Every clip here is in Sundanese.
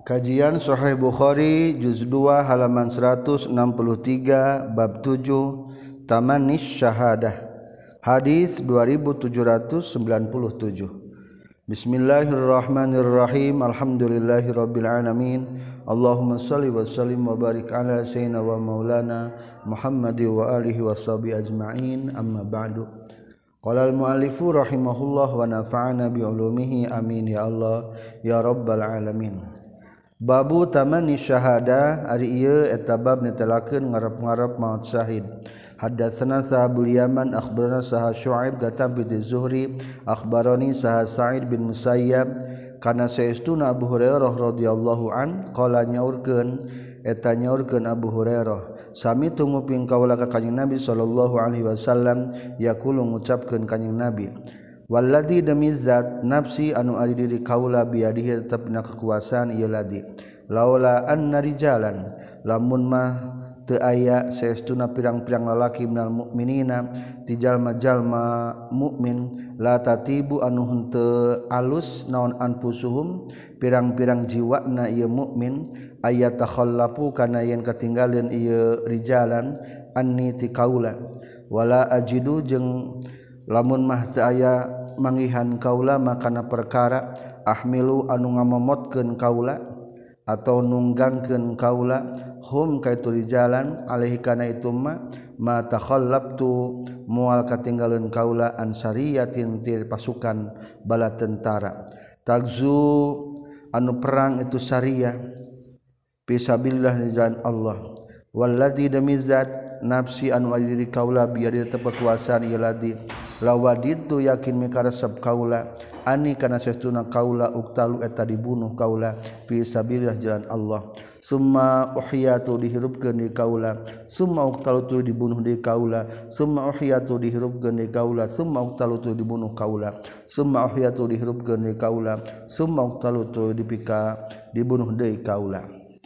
Kajian Sahih Bukhari juz 2 halaman 163 bab 7 Tamanis Syahadah hadis 2797. Bismillahirrahmanirrahim. Alhamdulillahirabbil alamin. Allahumma shalli wa sallim wa barik ala sayyidina wa maulana Muhammadi wa alihi washabi ajma'in. Amma ba'du. Qala al-muallifu rahimahullah wa nafa'ana bi ulumihi amin ya Allah ya rabbal alamin. Babu tamani syahada ari ieu eta bab netelakeun ngarep-ngarep maot syahid. Hadatsana Sahabul Yaman akhbarana Saha Syuaib gatam bi Zuhri akhbarani Saha Sa'id bin Musayyab kana saestuna Abu Hurairah radhiyallahu an qala nyaurkeun Abu Hurairah sami tunguping kaula ka Kanjeng Nabi sallallahu alaihi wasallam yaqulu ngucapkeun Kanjeng Nabi walladzi demi zat nafsi anu ari diri kaula biadihi tetepna kekuasaan ieu ladi laula anna rijalan lamun mah teu aya saestuna pirang-pirang lalaki minal mukminina ti jalma-jalma mukmin la tatibu anu henteu alus naon anfusuhum pirang-pirang jiwana ieu mukmin aya takhallafu kana yen katinggaleun ieu rijalan anni ti kaula wala ajidu jeung lamun mah teu aya manggihan kaula makana perkara ahmilu anu ngamomotkeun kaula atau nunggangkeun kaula hum kaitu rijalan alaihi kana itu ma takhallabtu moal katinggaleun kaula ansariyatin ti pasukan bala tentara tagzu anu perang itu sariyah fisabilillah di jalan Allah walladzi damizat nafsi anu ari diri kaula biar tetep kekuasaan ieu ladi lawaditu yakin mikaresep kaula ani kana saestuna kaula uktalu eta dibunuh kaula fi sabilillah jalan Allah summa uhyatu dihirupkeun di kaula summa uktalu tu dibunuh di kaula summa uhyatu dihirupkeun di kaula summa uktalu tu dibunuh kaula summa uhyatu dihirupkeun di kaula summa uktalu tu dipika dibunuh deui kaula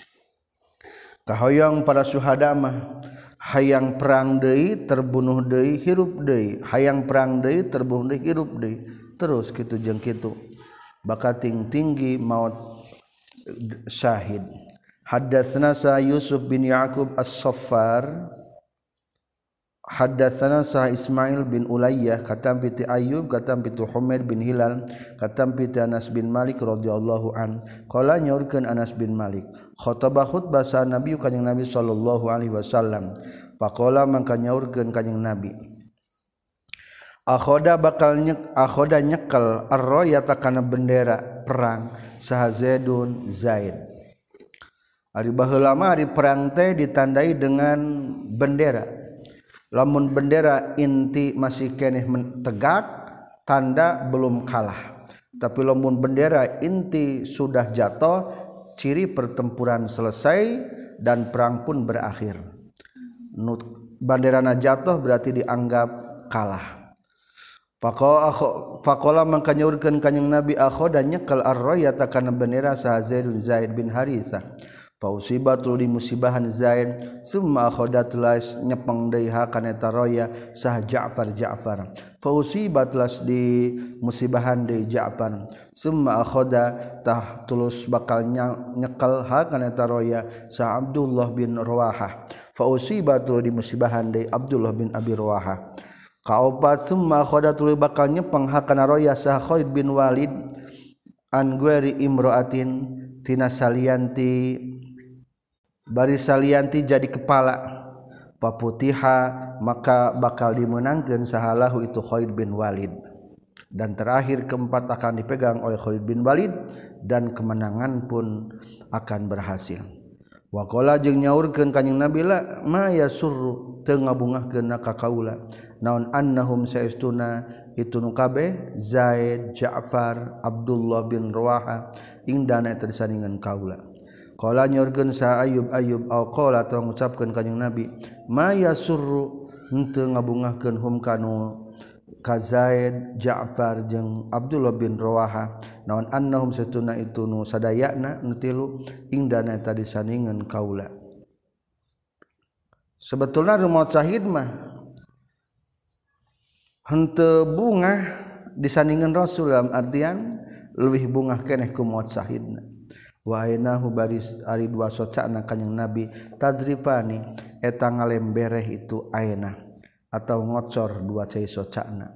kahoyong para syuhada mah hayang perang deui terbunuh deui hirup deui hayang perang deui terbunuh deui hirup deui terus kitu jeung kitu bakal tinggi maut syahid. Haddatsana sa Yusuf bin Yaqub As-Saffar haddatsana sa Ismail bin Ulayyah katam piti Ayyub katam piti Humaid bin Hilal katam piti Anas bin Malik radhiyallahu an qala nyaurkeun Anas bin Malik khatabah khutbah sa Nabi kanjing Nabi sallallahu alaihi wasallam faqala mangka nyaurkeun kanjing Nabi akhoda nyekel ar-rayata kana bendera perang saha Zaidun Zaid ari baheula mah ari perang teh ditandai dengan bendera lamun bendera inti masih keneh tegak tanda belum kalah tapi lamun bendera inti sudah jatuh ciri pertempuran selesai dan perang pun berakhir banderana jatuh berarti dianggap kalah faqala mangka nyaurkeun kanjing Nabi akhoda nyekel ar-rayata kana bendera saha Zaid bin Haritsah fausibatul di musibahan Zaid summa akhodat las nyepeng deui kana eta raya sah Ja'far fausibatlas di musibahan deui Ja'far summa akhoda tah tulus bakal nyekel kana eta raya sah Abdullah bin Rawahah fausibatul di musibahan deui Abdullah bin Abi Rawahah kaopat summa akhoda tuluy bakal nyepeng kana raya sah Khalid bin Walid an gueri imraatin tina salianti bari salianti jadi kepala paputiha maka bakal dimenangkeun sahalahu itu Khalid bin Walid dan terakhir keempat akan dipegang oleh Khalid bin Walid dan kemenangan pun akan berhasil wa qala jeung nyaurkeun kanjing Nabi la ma yasurru teu ngabungahkeun ka kaula naon annahum saestuna itu nu kabeh Zaid Ja'far Abdullah bin Rawahah indana eta disandingan kaula qala nyaurkeun sa Ayyub au qala atau ngucapkeun kanjing Nabi ma yasurru henteu ngabungahkeun hum kanu ka Zaid Ja'far jeung Abdullah bin Rawahah naon annahum saestuna itu nu sadayana nu tilu indana eta disandingan kaula sebetulna rumaot syahid mah henteu bungah disandingan Rasul dalam artian leuwih bungah keneh ku maot syahidna wa ainahu baris ari dua socana kanjing nabi tadripani eta ngalembereh itu aina atau ngocor dua cai socana.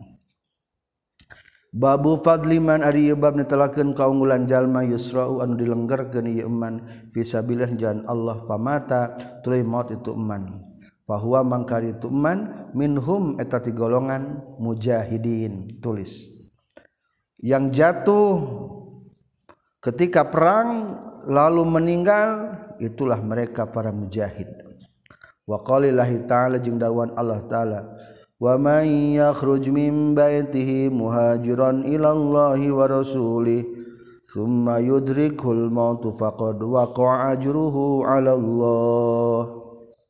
Babu fadliman ari bab netelakeun kaunggulan jalma yusra'u anu dilenggerkeun ieu eman fisabilillah jalan Allah famata tuluy maut itu eman fahuwa mangkari itu eman minhum eta ti golongan mujahidin tulis yang jatuh ketika perang lalu meninggal itulah mereka para mujahid. Wa qalillahi ta'ala jeung dawan Allah ta'ala wa may yakhruj min baitihi muhajiran ila Allahi wa rasulih thumma yudrikul maut faqad waqa'a ajruhu 'ala Allah.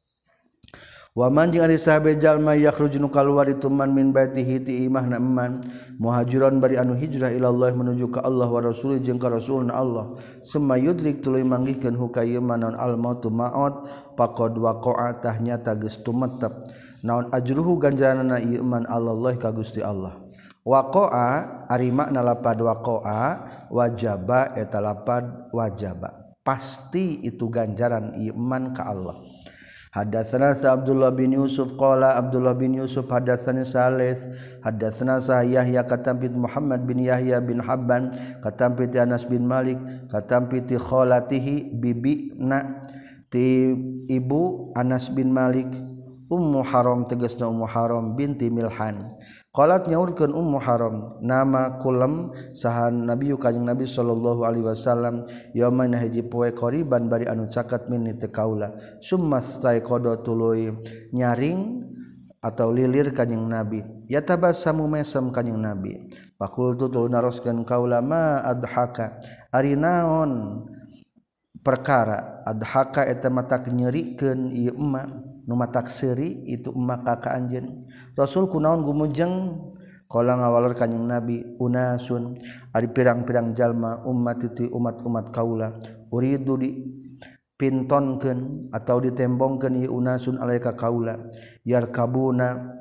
Wa man jeung ari sahabe jalma yakhruj nu kaluar itu man min baitihi ti imahna eman muhajiran bari anu hijrah ila Allah menuju ka Allah wa rasulih jeung ka rasulna Allah summa yudrik tuluy manggihkeun hukaya manon al maut maut faqad waqa'a tahnyata geus tumetep naon ajruhu ganjaranna ieu man Allah ka Gusti Allah. Waqa'a ari makna lapad waqa'a wajaba eta lapad wajaba pasti itu ganjaran ieu man ka Allah. Hadatsana Abdullah bin Yusuf qala Abdullah bin Yusuf hadatsani Salih hadatsana Yahya katampit Muhammad bin Yahya bin Habban katampit Anas bin Malik katampit khalatihi bibina ti ibu Anas bin Malik Ummu Haram tegasna Ummu Haram binti Milhan qalat nyaurkeun Ummu Haram nama kulam sahan Nabi kanjing Nabi sallallahu alaihi wasallam yaumana hiji poe qoriban bari anu caket min teu kaula summa staiqada tuluy nyaring atau lilir kanjing Nabi yatabassamu mesem kanjing Nabi faqultu tu naroskeun kaula ma adhaka ari naon perkara adhaka eta matak nyerikeun ieu emma nu matak seuri itu emma ka anjeun Rasul kunaon gumujeng qala ngawalor kanjing Nabi unasun ari pirang-pirang jalma ummat itu umat-umat kaula uridu di pintonkeun atau ditembongkeun ieu unasun alaika kaula yarkabuna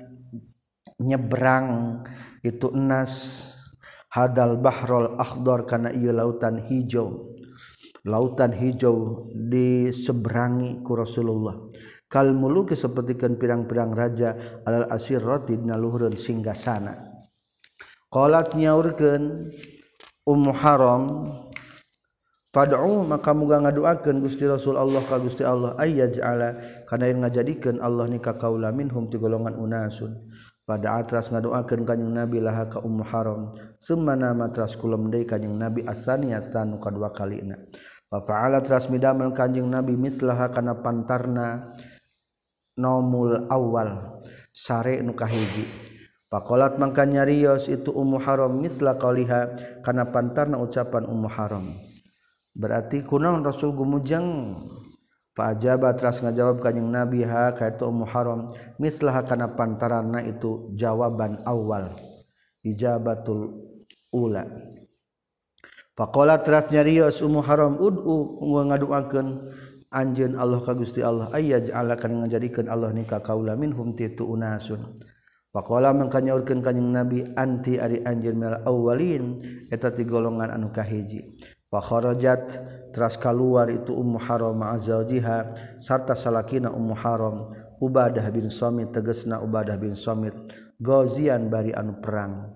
nyebrang itu enas hadal bahrul akhdar kana ieu lautan hijau diseberangi ku Rasulullah kal muluki sapertikeun pirang-pirang raja alal asirati dina luhureun singgasana qalat nyaurkeun Ummu Haram fad'u maka muga ngaduakeun Gusti Rasul Allah ka Gusti Allah ayyaj'ala kana yen ngajadikeun Allah ni ka kaula minhum ti golongan unasun pada atras ngaduakeun kanjing Nabi laha ka Ummu Haram summa nama tras kulem deui kanjing Nabi asaniya stanu kadua kalina fa fa'ala tras midamel kanjing Nabi mislaha kana pantarna nomul awal sare nu kahiji faqalat mangka nyarios itu Ummu Haram misla qaliha kana pantarna ucapan Ummu Haram berarti kunaon Rasul gumujeng fa ajaba tras ngajawab kanjing Nabi ha ka itu Ummu Haram misla kana pantaranna itu jawaban awal ijabatul ula faqalat tras nyarios Ummu Haram ud'u ngaduakeun anjeun Allah ka Gusti Allah ayyaj'ala kana ngajadikeun Allah ni ka kaula minhum titu unasun faqala mangka nyaurkeun kanjing Nabi anti ari anjeun minal awwalin eta ti golongan anu kahiji fa kharajat tras kaluar itu Ummu Haram ma'azaujiha sarta salakina Ummu Haram Ubadah bin Samit tegasna Ubadah bin Samit ghazian bari anu perang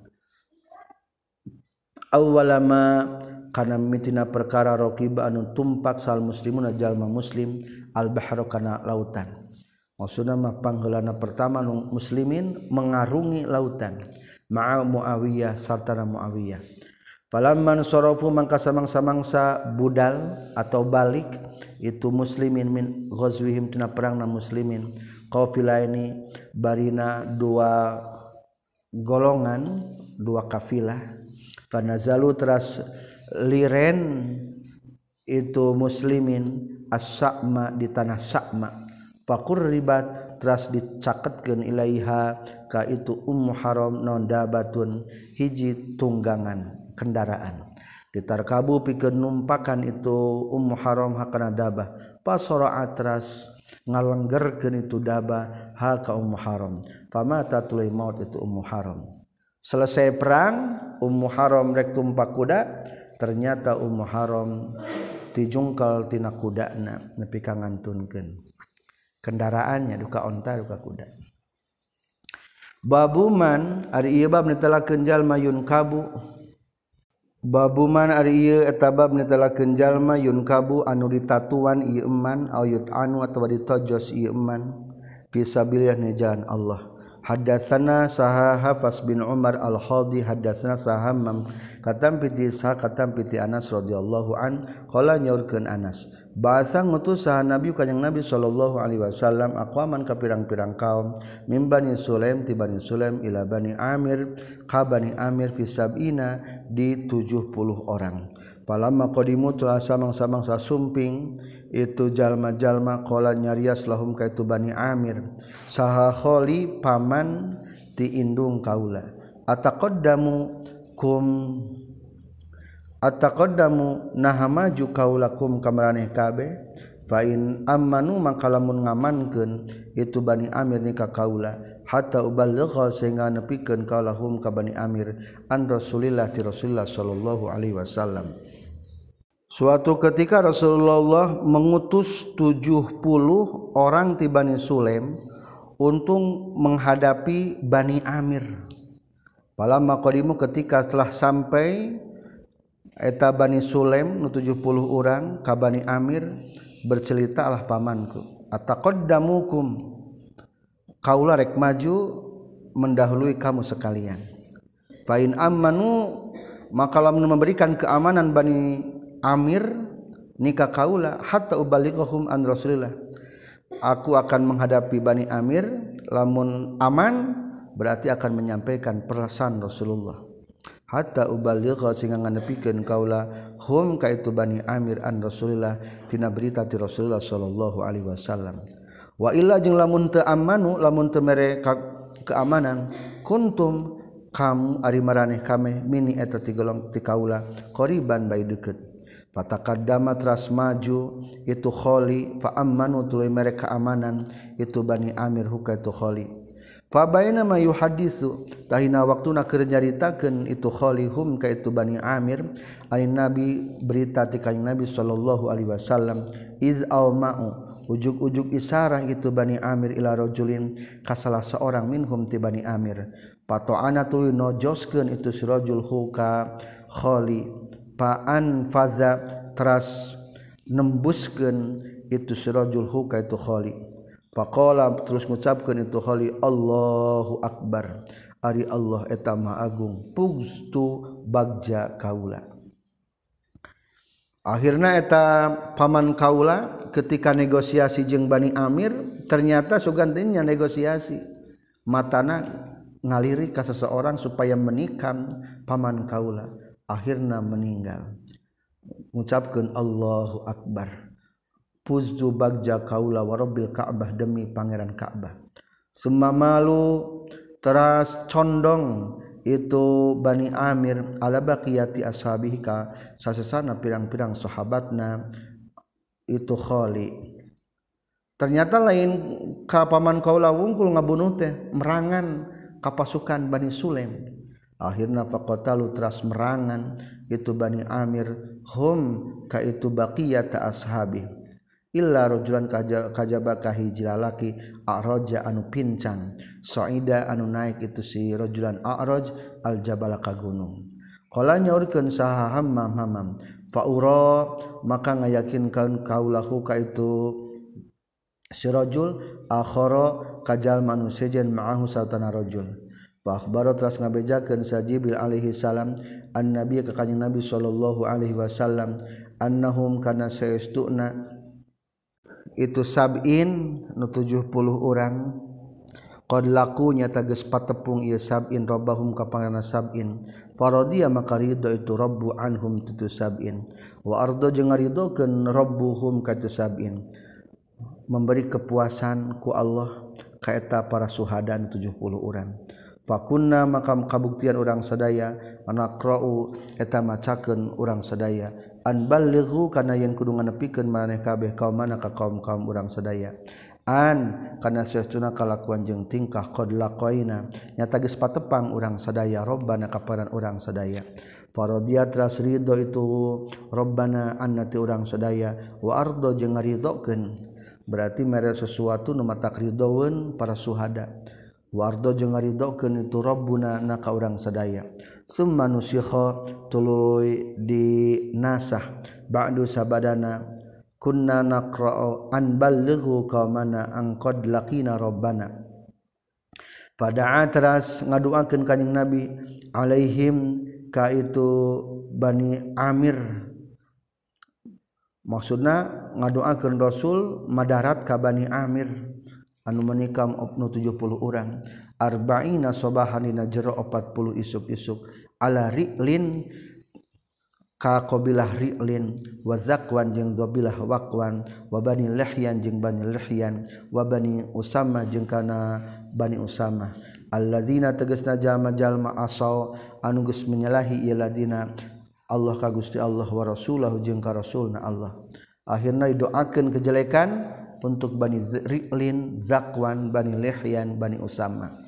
awwalama kana mitina perkara raqiba anu tumpak sal muslimuna jalma muslim al bahru kana lautan maksudna mah pangheulana pertama nu muslimin mengarungi lautan ma'a Muawiyah sarta Muawiyah falamman sarafu mangka samangsa budal atau balik itu muslimin min ghazwihim tina perangna muslimin qafilaini barina dua golongan dua kafilah fanazalu teras liren itu muslimin as-sa'ma di tanah Sa'ma faqurribat teras dicaketkeun ilaiha ka itu Ummu Haram non dabatun hiji tunggangan kendaraan ditarkabu pikeun numpakan itu Ummu Haram hakana dabah pasara atras ngalenggerkeun itu dabah ha ka Ummu Haram famata tuluy maut itu Ummu Haram selesai perang Ummu Haram rek tumpak kuda ternyata Ummu Haram tijungkal tina kudana nepi ka ngantunkeun kendaraannya duka onta duka kuda. Babuman ari ieu bab netelakeun jalma yun kabu. Babuman ari ieu eta bab netelakeun jalma yun kabu anu ditatuan ieu eman ayut anu atawa ditojos ieu eman fisabilillah ni jalan Allah. Hadatsana saha Hafs bin Umar al-Khadi hadatsana sahammam katam piti sah katam piti Anas radhiyallahu an qala nyaurkeun Anas ba'atha ngutus saha Nabi kanjing Nabi sallallahu alaihi wasallam aqwaman ka pirang-pirang kaum min Bani Sulaim ti Bani Sulaim ila Bani Amir ka Bani Amir fi sab'ina di 70 orang. Palamma qadimu telah samang-samang sasumping itu jalma-jalma qala nyarias lahum ka itu Bani Amir saha kholi paman ti indung kaula ataqaddamu naha maju kaulakum kamraneh kabeh fa in amanu mangka lamun ngamankeun itu Bani Amir ni ka kaula hatta uballigha sehingga nepikeun kaulahum ka Bani Amir an Rasulillah ti Rasulullah sallallahu alaihi wasallam. Suatu ketika Rasulullah mengutus 70 orang ti Bani Sulaim untuk menghadapi Bani Amir. Palamma qadimu ketika setelah sampai eta Bani Sulaim nu 70 orang ka Bani Amir bercerita lah pamanku ataqaddamukum kaula rek maju mendahului kamu sekalian. Fa in amanu maka lamun memberikan keamanan Bani Amir nikah kaula hatta ubalighum an Rasulillah aku akan menghadapi Bani Amir lamun aman berarti akan menyampaikan pesan Rasulullah hatta ubaligha sehingga nganepikeun kaula hum ka itu Bani Amir an Rasulillah tina berita ti Rasulullah sallallahu alaihi wasallam. Wa illa jeung lamun teu amanu lamun teu mere keamanan kuntum kamu ari maraneh kameh mini eta ti golong ti kaula qoriban bae deukeut. Fataqaddama teras maju itu kholi fa ammanu tuluy mereka amanan itu Bani Amir huka itu kholi fa baina ma yuhaddisu tahina waktuna keur nyaritakeun itu kholi hum ka itu Bani Amir ai Nabi berita ti kanjing Nabi sallallahu alaihi wasallam iz auma'u ujug-ujug isarah itu Bani Amir ila rajulin ka salah seorang minhum ti Bani Amir pato'ana tuluy nojoskeun itu si rajul huka kholi paan faza teras nembuskeun itu sirajul huka itu khali faqala terus ngucapkeun itu khali Allahu akbar ari Allah eta maha agung pugstu bagja kaula. Akhirna eta paman kaula ketika negosiasi jeung Bani Amir ternyata sugantinya negosiasi matana ngalirik ka seseorang supaya menikam paman kaula. Akhirna meninggal mengucapkan Allahu Akbar puzzu bagja kaula wa rabbil Ka'bah demi pangeran Ka'bah semamalu teras condong itu Bani Amir ala baqiyati ashabihi ka sasesana pirang-pirang sahabatna itu khali ternyata lain ka paman kaula wungkul ngabunuh teh merangan ka pasukan Bani Sulaim. Akhirna faqatalu teras merangan itu Bani Amir hum ka itu baqiyata ashabi illa rajulan kajaba ka hiji lalaki a'raja anu pincang saida anu naik itu si rajulan a'raj al jabal ka gunung qala nyaurkeun saha hammam faura maka ngayakinkeun kaulahu ka itu si rajul akhara kajal manusia jan ma'ahu satana rajul fa akhbara teras ngabejakeun sa Jibril alaihi salam annabi ka kanjing Nabi sallallahu alaihi wasallam annahum kana saestuna itu sab'in nu 70 urang qad laku nyata geus patepung ieu sab'in rabbahum ka pangaranna sab'in faradiya maka ridho itu rabbu anhum tu sab'in wa ardo jeung ngaridokeun rabbuhum ka tu sab'in memberi kepuasan ku Allah ka eta para syuhada 70 urang fakunna maka kabuktian urang sadaya anaqra'u eta macakeun urang sadaya an ballighu kana yen kudu nganepikeun maraneh kabeh kaum mana ka kaum urang sadaya karena sesuatu kalakuan jeung tingkah qad laqaina nyata geus patepang urang sadaya robbana kaparan urang sadaya faradiyat ras ridho itu robbana annati urang sadaya wa ardo jeung ngaridokeun berarti mere sesuatu nu mata ridhoeun para suhada wa ardo jeung ngaridokeun itu rabbuna na ka urang sadaya summa nusikha tuluy dinasah ba'du sabadana kunna naqra'u an ballighu qaumana an qad laqina rabbana pada atras ngaduakeun kanjing nabi alaihim ka itu bani amir maksudna ngaduakeun rasul madarat ka bani amir anu menikam 70 urang arba'ina sabahan dina jero 40 isuk-isuk ala ri'lin ka qabilah ri'lin wa zakwan jeung qabilah waqwan wa bani lihyan jeung bani lihyan wa bani usama jeung kana bani usama allazina tegasna jalma-jalma asaw anu geus menyalahi ieu ladina Allah ka Gusti Allah wa rasulahu jeung ka rasulna Allah akhirna didoakeun kejelekan untuk bani ri'lin zakwan bani lihyan bani usama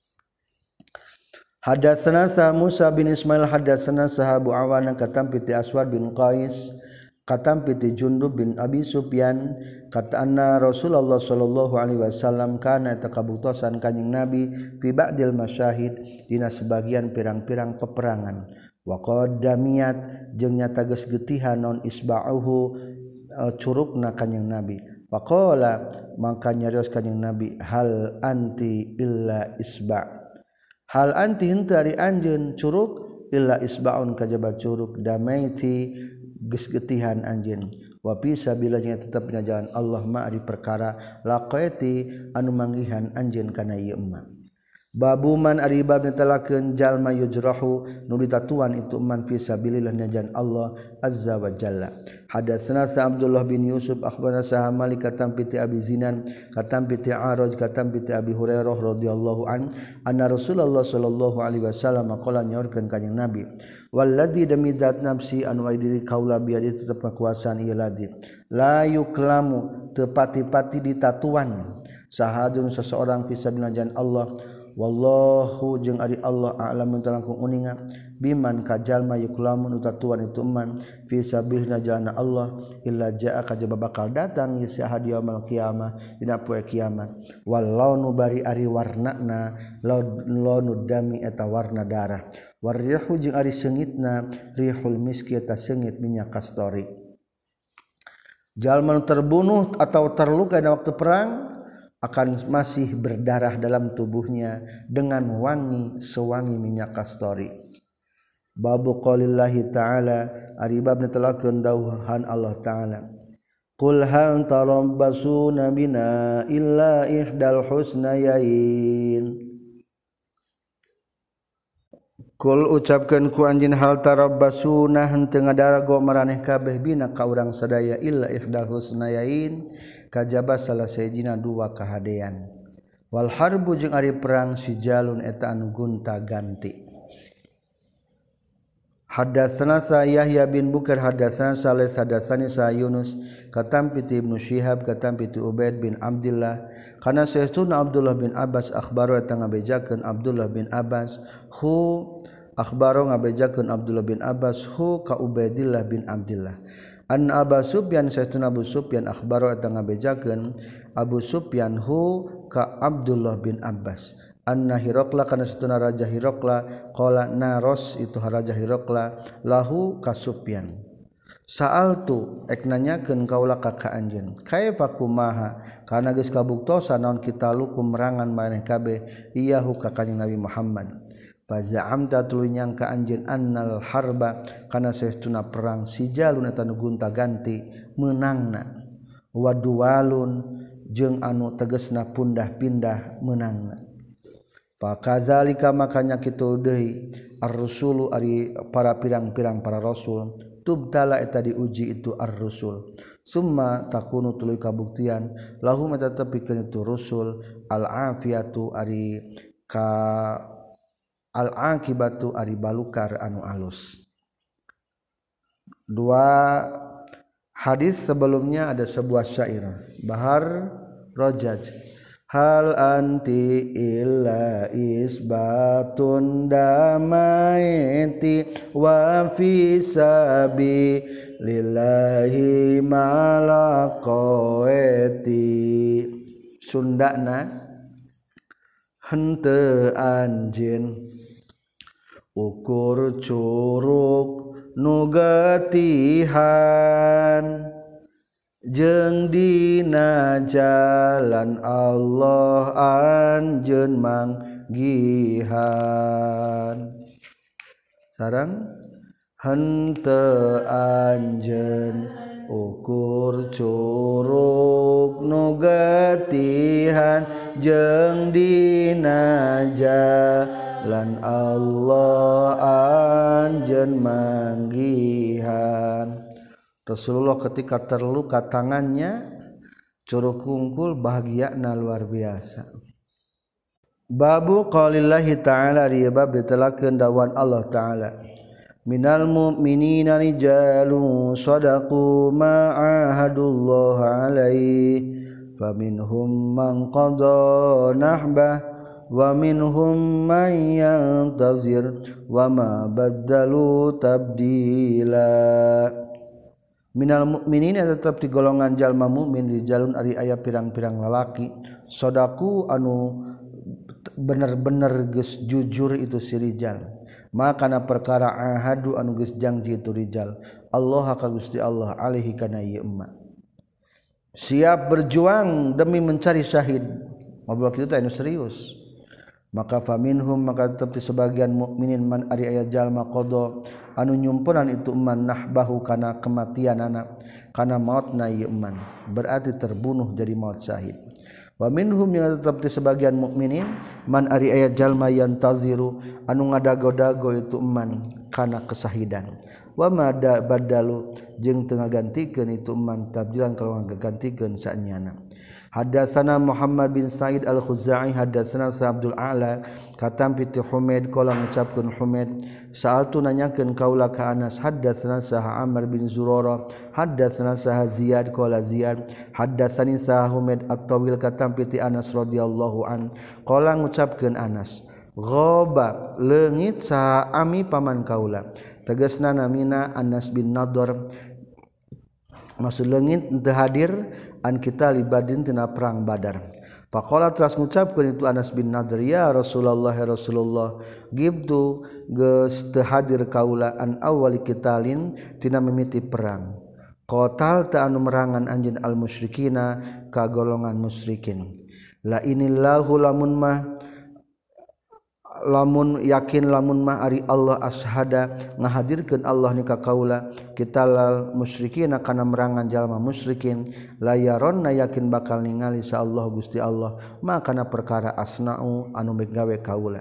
Hadatsana sa Musa bin Ismail hadatsana sahabu awana katam piti Aswad bin Qais katam piti Jundub bin Abi Sufyan kata anna Rasulullah sallallahu alaihi wasallam kana takabutosan kanjing Nabi fi ba'dil masyahid dina sebagian pirang-pirang peperangan wa qaddamiyat jeung nyata geus geutihan naon isba'uhu curugna kanjing Nabi faqala mangka nyarios kanjing Nabi hal anti illa isba' hal anti henteu ari anjeun curug illa isbaun kajaba curug damaiti geus geutihan anjeun wa fi sabilillah nya tetep dina jalan Allah ma ari perkara laqaiti anu manggihan anjeun kana ieu emma babu man ari bab netelakeun jalma yujrahu nu ditatuan itu man fi sabilillah nya jalan Allah azza wa jalla hadatsana sa Abdullah bin Yusuf akhbarana sa Malik katam piti Abi Zinan katam piti Araj katam piti Abi Hurairah radhiyallahu an anna Rasulullah sallallahu alaihi wasallam qala nyaurkeun kanjing Nabi walladzi demi zat nafsi anu diri kaula biadi tetep kakuasaan ieu ladzi la yuklamu teu pati-pati ditatuan sahadun seseorang fi sabilillah jalan Allah wallahu jeung ari Allah a'lamu talangkung uninga biman kajalma yuklamun utatuan itu man fi sabilillah jalan Allah illa jaa kajaba bakal datang ya sahad yaumul qiyamah dina poe kiamat wallahu bari ari warnana launu dami eta warna darah warrihu jeung ari seungitna rihul miski eta seungit minyak kastori jalma terbunuh atau terluka pada waktu perang akan masih berdarah dalam tubuhnya dengan wangi sewangi minyak kastori. Babu qaulillahi ta'ala ari bab netelakeun dawuhan Allah ta'ala. Qul hal tarabbasuna bina illa ihdal husnayain. Qul ucapkeun ku anjeun hal tarabbasuna henteu ngadarago maraneh kabeh bina ka urang sadaya illa ihdal husnayain kajaba salah sejina dua kahadean wal harbu jeung ari perang sijalun eta anu gonta-ganti hadatsana sa Yahya bin Bukar hadatsana Salih hadatsani sa Yunus katam piti Ibnu Syihab katam piti Ubaid bin Abdullah kana saestuna Abdullah bin Abbas akhbaru eta ngabejakeun Abdullah bin Abbas hu akhbaru ngabejakeun Abdullah bin Abbas hu ka Ubaidillah bin Abdullah an Abu Sufyan saestuna Abu Sufyan akhbaru eta ngabejakeun Abu Sufyan hu ka Abdullah bin Abbas anna Hiraqla kana saestuna Raja Hiraqla qala naros itu Raja Hiraqla lahu ka Sufyan sa'altu ek nanyakeun kaula ka anjeun kaifa kumaha kana geus kabuktosan naon kita lukum merangan maneh kabeh iyahu ka kanjing Nabi Muhammad faza'amta tuluy nyangka anjeun annal harba kana saestuna perang sijalun eta nu gonta-ganti meunangna waduwalun jeung anu tegasna pundah-pindah meunangna pakazalika makanya kitu deui ar-rusulu ari para pirang-pirang para rasul tubtala eta diuji itu ar-rusul summa takunu tuluy kabuktian lahum eta tepikeun itu rusul al-afiyatu ari ka al-aqibatu ari balukar anu alus. Dua hadis sebelumnya ada sebuah syair. Bahar rajaj hal anti illa isbatun damaiti wa fi sabi lillahi malaqaiti Sundana henteu anjeun ukur curug nu getihan jeung dina jalan Allah anjeun manggihan sareng henteu anjeun ukur curug nu getihan jeung dina jalan Allah anjeun manggihan Rasulullah ketika terluka tangannya curug kungkul bahagiana luar biasa. Babu qaulillahi ta'ala ribab ditelakeun dawan Allah ta'ala. Minal mu'minina rijalun sadaqu ma ahadullah alaihi faminhum man qada nahbah wa minhum man yantazir wa ma baddalu tabdila. Minal mukminin tetap di golongan jalma mukmin di jalun ari aya pirang-pirang lalaki sodaku anu bener-bener geus jujur itu si rijal makana perkara ahadu anu geus janji itu rijal Allah ka Gusti Allah alaihi kana ieu emma siap berjuang demi mencari syahid ngobrol kitu teh anu serius maka faminhum maka tetap di sebagian mukminin man ari aya jalma qada anu nyumpunan itu man nahbahu kana kematian anak kana mautna ieu man berarti terbunuh jadi maut syahid wa minhum yang tetap di sebagian mukminin man ari aya jalma yantaziru anu ngadago-dago itu man kana kesahidan wa mada badalu jeung teu ngagantikeun itu man tabdilan kalau ngagantikeun saenyana Hadatsana Muhammad bin Sa'id Al-Khuzai hadatsana Abdul A'la katam piti Humaid qala ngucapkeun Humaid sa'altu nanyakeun kaula ka Anas hadatsana Sah Amr bin Zurarah hadatsana Sah Ziyad qala Ziyad hadatsani Sah Humaid at-Tawil katam piti Anas radhiyallahu an qala ngucapkeun Anas ghaba leungit saha ami paman kaula tegasna namina Anas bin Nadhr maksud leungit teu hadir an kita libadin tina perang Badar. Faqala teras ngucapkeun itu Anas bin Nadhr ya Rasulullah ya Rasulullah gibtu geus teu hadir kaula an awali qitalin tina mimiti perang. Qatal ta anu merangan anjeun al musyrikina ka golongan musyrikin. La inillahu lamun yakin lamun mah ari Allah ashada ngahadirkeun Allah ni ka kaula kitalal musyrikin kana merangan jalma musyrikin la yaronna yakin bakal ningali insyaallah Gusti Allah makana perkara asna'u anu gawe kaula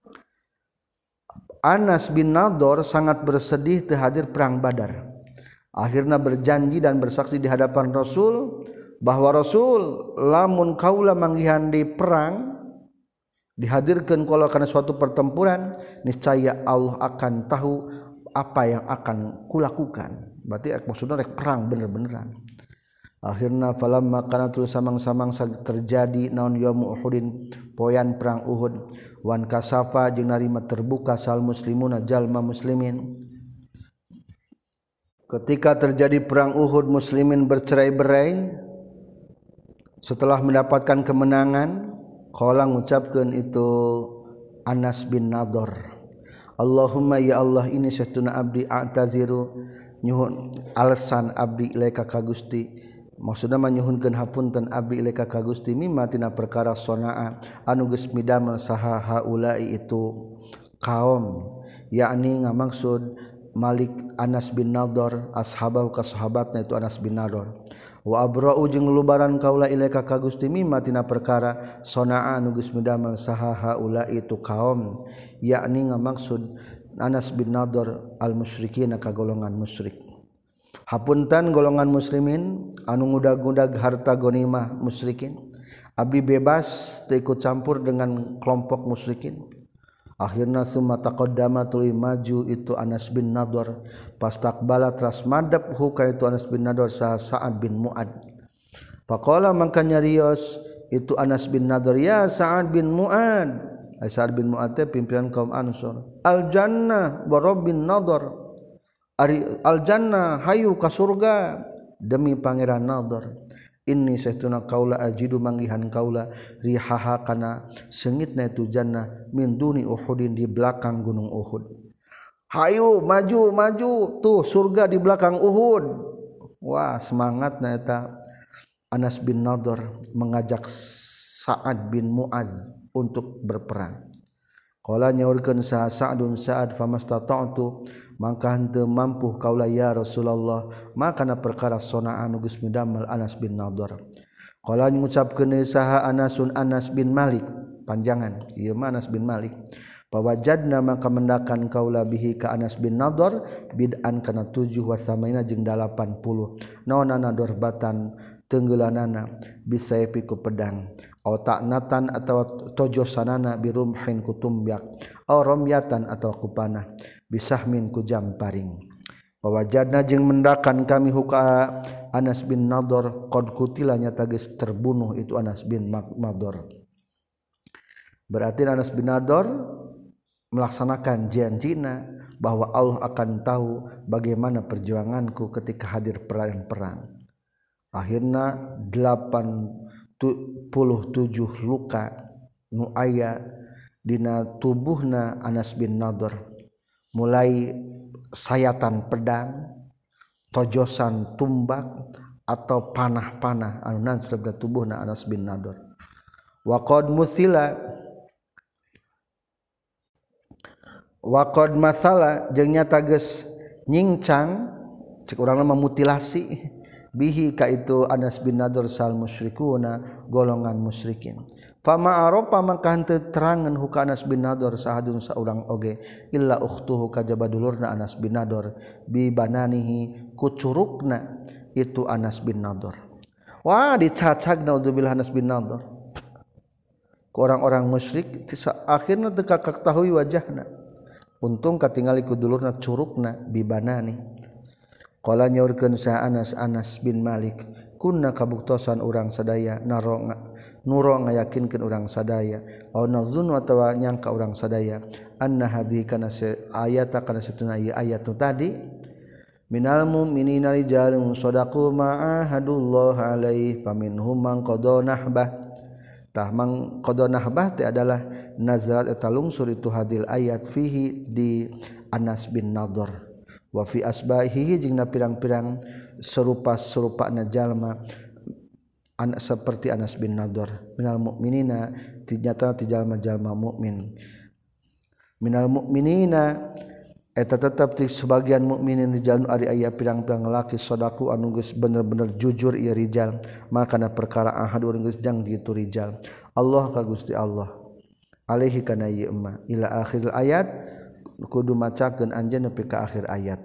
Anas bin Nadhr sangat bersedih teu hadir perang Badar akhirna berjanji dan bersaksi di hadapan Rasul bahwa Rasul lamun kaula manggihan di perang dihadirkan kalau karena suatu pertempuran niscaya Allah akan tahu apa yang akan kulakukan berarti maksudnya rek perang bener-beneran akhirna falamma kana terus samang-samang terjadi naon yaum Uhudin poyan perang Uhud wan kasafa jeung narima terbuka sal muslimuna jalma muslimin ketika terjadi perang Uhud muslimin bercerai-berai setelah mendapatkan kemenangan qala ngucapkeun itu Anas bin Nadhr Allahumma ya Allah ini saestuna abdi a'taziru nyuhun alasan abdi ilaika ka Gusti maksudna mah nyuhunkeun hapunten abdi ilaika ka Gusti mimma tina perkara sonaa anu geus midamel saha haulai itu kaum yakni ngamaksud Malik Anas bin Nadhr ashabahu ka sahabatna itu Anas bin Nadhr wa abra'u jeung lubaran kaula ilaika ka Gusti mimma tina perkara sonaa anu geus midamel saha haula itu kaum yakni ngamaksud Anas bin Nadhr al musyrikin ka golongan musyrik hapunten golongan muslimin anu ngudag-ngudag harta ghanimah musyrikin abdi bebas teu ikut campur dengan kelompok musyrikin akhirna summa taqaddama tuluy maju itu Anas bin Nadhr pastaqbala teras madep hu ka itu Anas bin Nadhr saha Sa'ad bin Mu'ad Faqala mangka nyarios itu Anas bin Nadhr ya Sa'ad bin Mu'ad. Sa'ad bin Mu'ad teh pimpinan kaum Ansor. Al jannah wa rabbin Nadhr. Ari al jannah hayu ka surga demi pangeran Nadhr. Inni saestuna kaula ajidu manggihan kaula rihaha kana seungitna itu jannah min duni Uhudin di belakang gunung Uhud. Hayu maju tuh surga di belakang Uhud. Wah semangatna eta Anas bin Nadhr mengajak Sa'ad bin Mu'adz untuk berperang. Qala nyaurkeun Sa'adun Sa'ad famastata'tu mangka henteu mampu kaula ya Rasulullah makana perkara sonaan geus midamel Anas bin Nadhr. Qala ngucapkeun saha Anasun Anas bin Malik panjangan ieu mah Anas bin Malik. Pawajadna maka mendakan kaula bihi ka Anas bin Nadhr bid'an kana 7 wa samaina jeung 80 naonana dorbatan tenggelanana bisa piku pedang aw ta'natan atawa tojosanana birumhin kutumbyak aw ramyatan atawa kupanah bisahmin ku jamparing. Pawajadna jeung mendakan kami huka Anas bin Nadhr qad kutila nyata geus terbunuh itu Anas bin Nadhr. Berarti Anas bin Nadhr melaksanakan janjina bahwa Allah akan tahu bagaimana perjuanganku ketika hadir perang. Akhirna 87 luka nu aya dina tubuhna Anas bin Nadhr mulai sayatan pedang, tojosan tumbak atau panah-panah anu nansrep ka tubuhna Anas bin Nadhr. Wa qad masalah jeung nyata geus nyincang cek urang memutilasi bihi ka itu Anas bin Nadhr sal musyrikuna golongan musyrikin. Fama aropa maka henteu terangan huka Anas bin Nadhr sahadun saurang oge illa ukhtuhu kajaba dulurna Anas bin Nadhr bi bananihi kucurukna itu Anas bin Nadhr. Wah dicacag naudzubillah Anas bin Nadhr ku orang-orang musyrik akhirna teu kaketahui wajahna. Untung katingali ku dulurna curugna bibanani. Qala nyaurkeun sa Anas bin Malik kunna kabuktosan urang sadaya nuro ngayakinkeun urang sadaya aw nazunnu atawa nyangka urang sadaya anna hadhihi kana ayata kana satuna ieu ayat tadi minal mu'minina rijalun shadaqu ma'ahadullah alaihi faminhum man qada nahbah. Tah mang qada nahbah teh adalah nazarat eta lungsur itu hadil ayat fihi di Anas bin Nadhr wa fi asbahihi jeung pirang-pirang serupa-serupana jalma seperti Anas bin Nadhr minal mukminina nyata ti jalma-jalma mukmin minal mukminina eta tetep ti sebagian mukminin di jalan ari aya pirang-pirang laki sadaku anu geus bener-bener jujur ieu rijal makana perkara ahad urang geus jang di itu rijal Allah ka Gusti Allah alaihi kana ieu emma ila akhir ayat kudu macakeun anjeun nepi ka akhir ayat.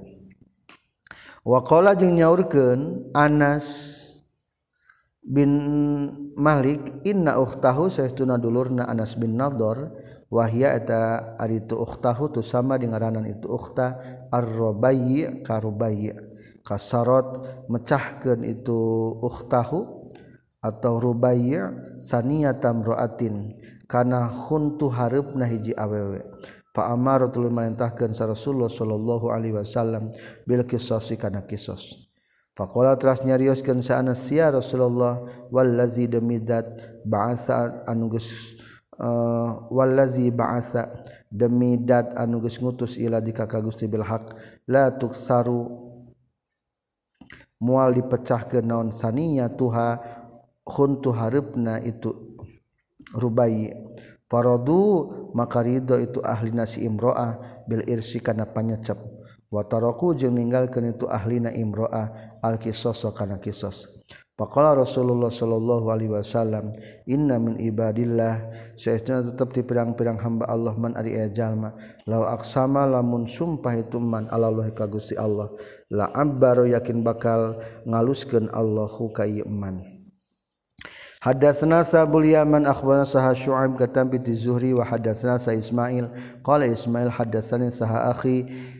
Wa qala jeung nyaurkeun Anas bin Malik inna ukhtahu saestuna dulurna Anas bin Nadhr wahya eta ari tu ukhtahu tu sama dengan ngaranna itu ukhta ar-rubayy ka rubayy kasarat mecahkeun itu ukhtahu atau rubayy saniyatam raatin kana huntu hareupna hiji awewe fa amaratul marintahkeun sa Rasulullah sallallahu alaihi wasallam bil qisas kana qisas. Faqala teras nyarioskeun sa Anas ya Rasulullah wallazi demidat ba'asa anu geus wallazi ba'asa demidat anu geus ngutus ila dika ka Gusti bil haq la tuksaru moal dipecahkeun naon saniya tuha khuntu hareupna itu rubai faradu maka ridho itu ahli nasi imro'ah bil irsi kana panyecep wa taraku jeung ninggalkeun itu ahlina imro'ah al qisas kana qisas. Faqala Rasulullah sallallahu alaihi wasallam inna min ibadillah saestuna tetep ti pirang-pirang hamba Allah man ari jalma law aqsama lamun sumpah itu man Allah ka Gusti Allah la abbaru yakin bakal ngaluskeun Allahu ka ieu man. Hadatsana Sabul Yaman akhbarana Saha Syu'aib katam bi Zuhri wa hadatsana Sa Ismail qala Ismail hadatsani Saha akhi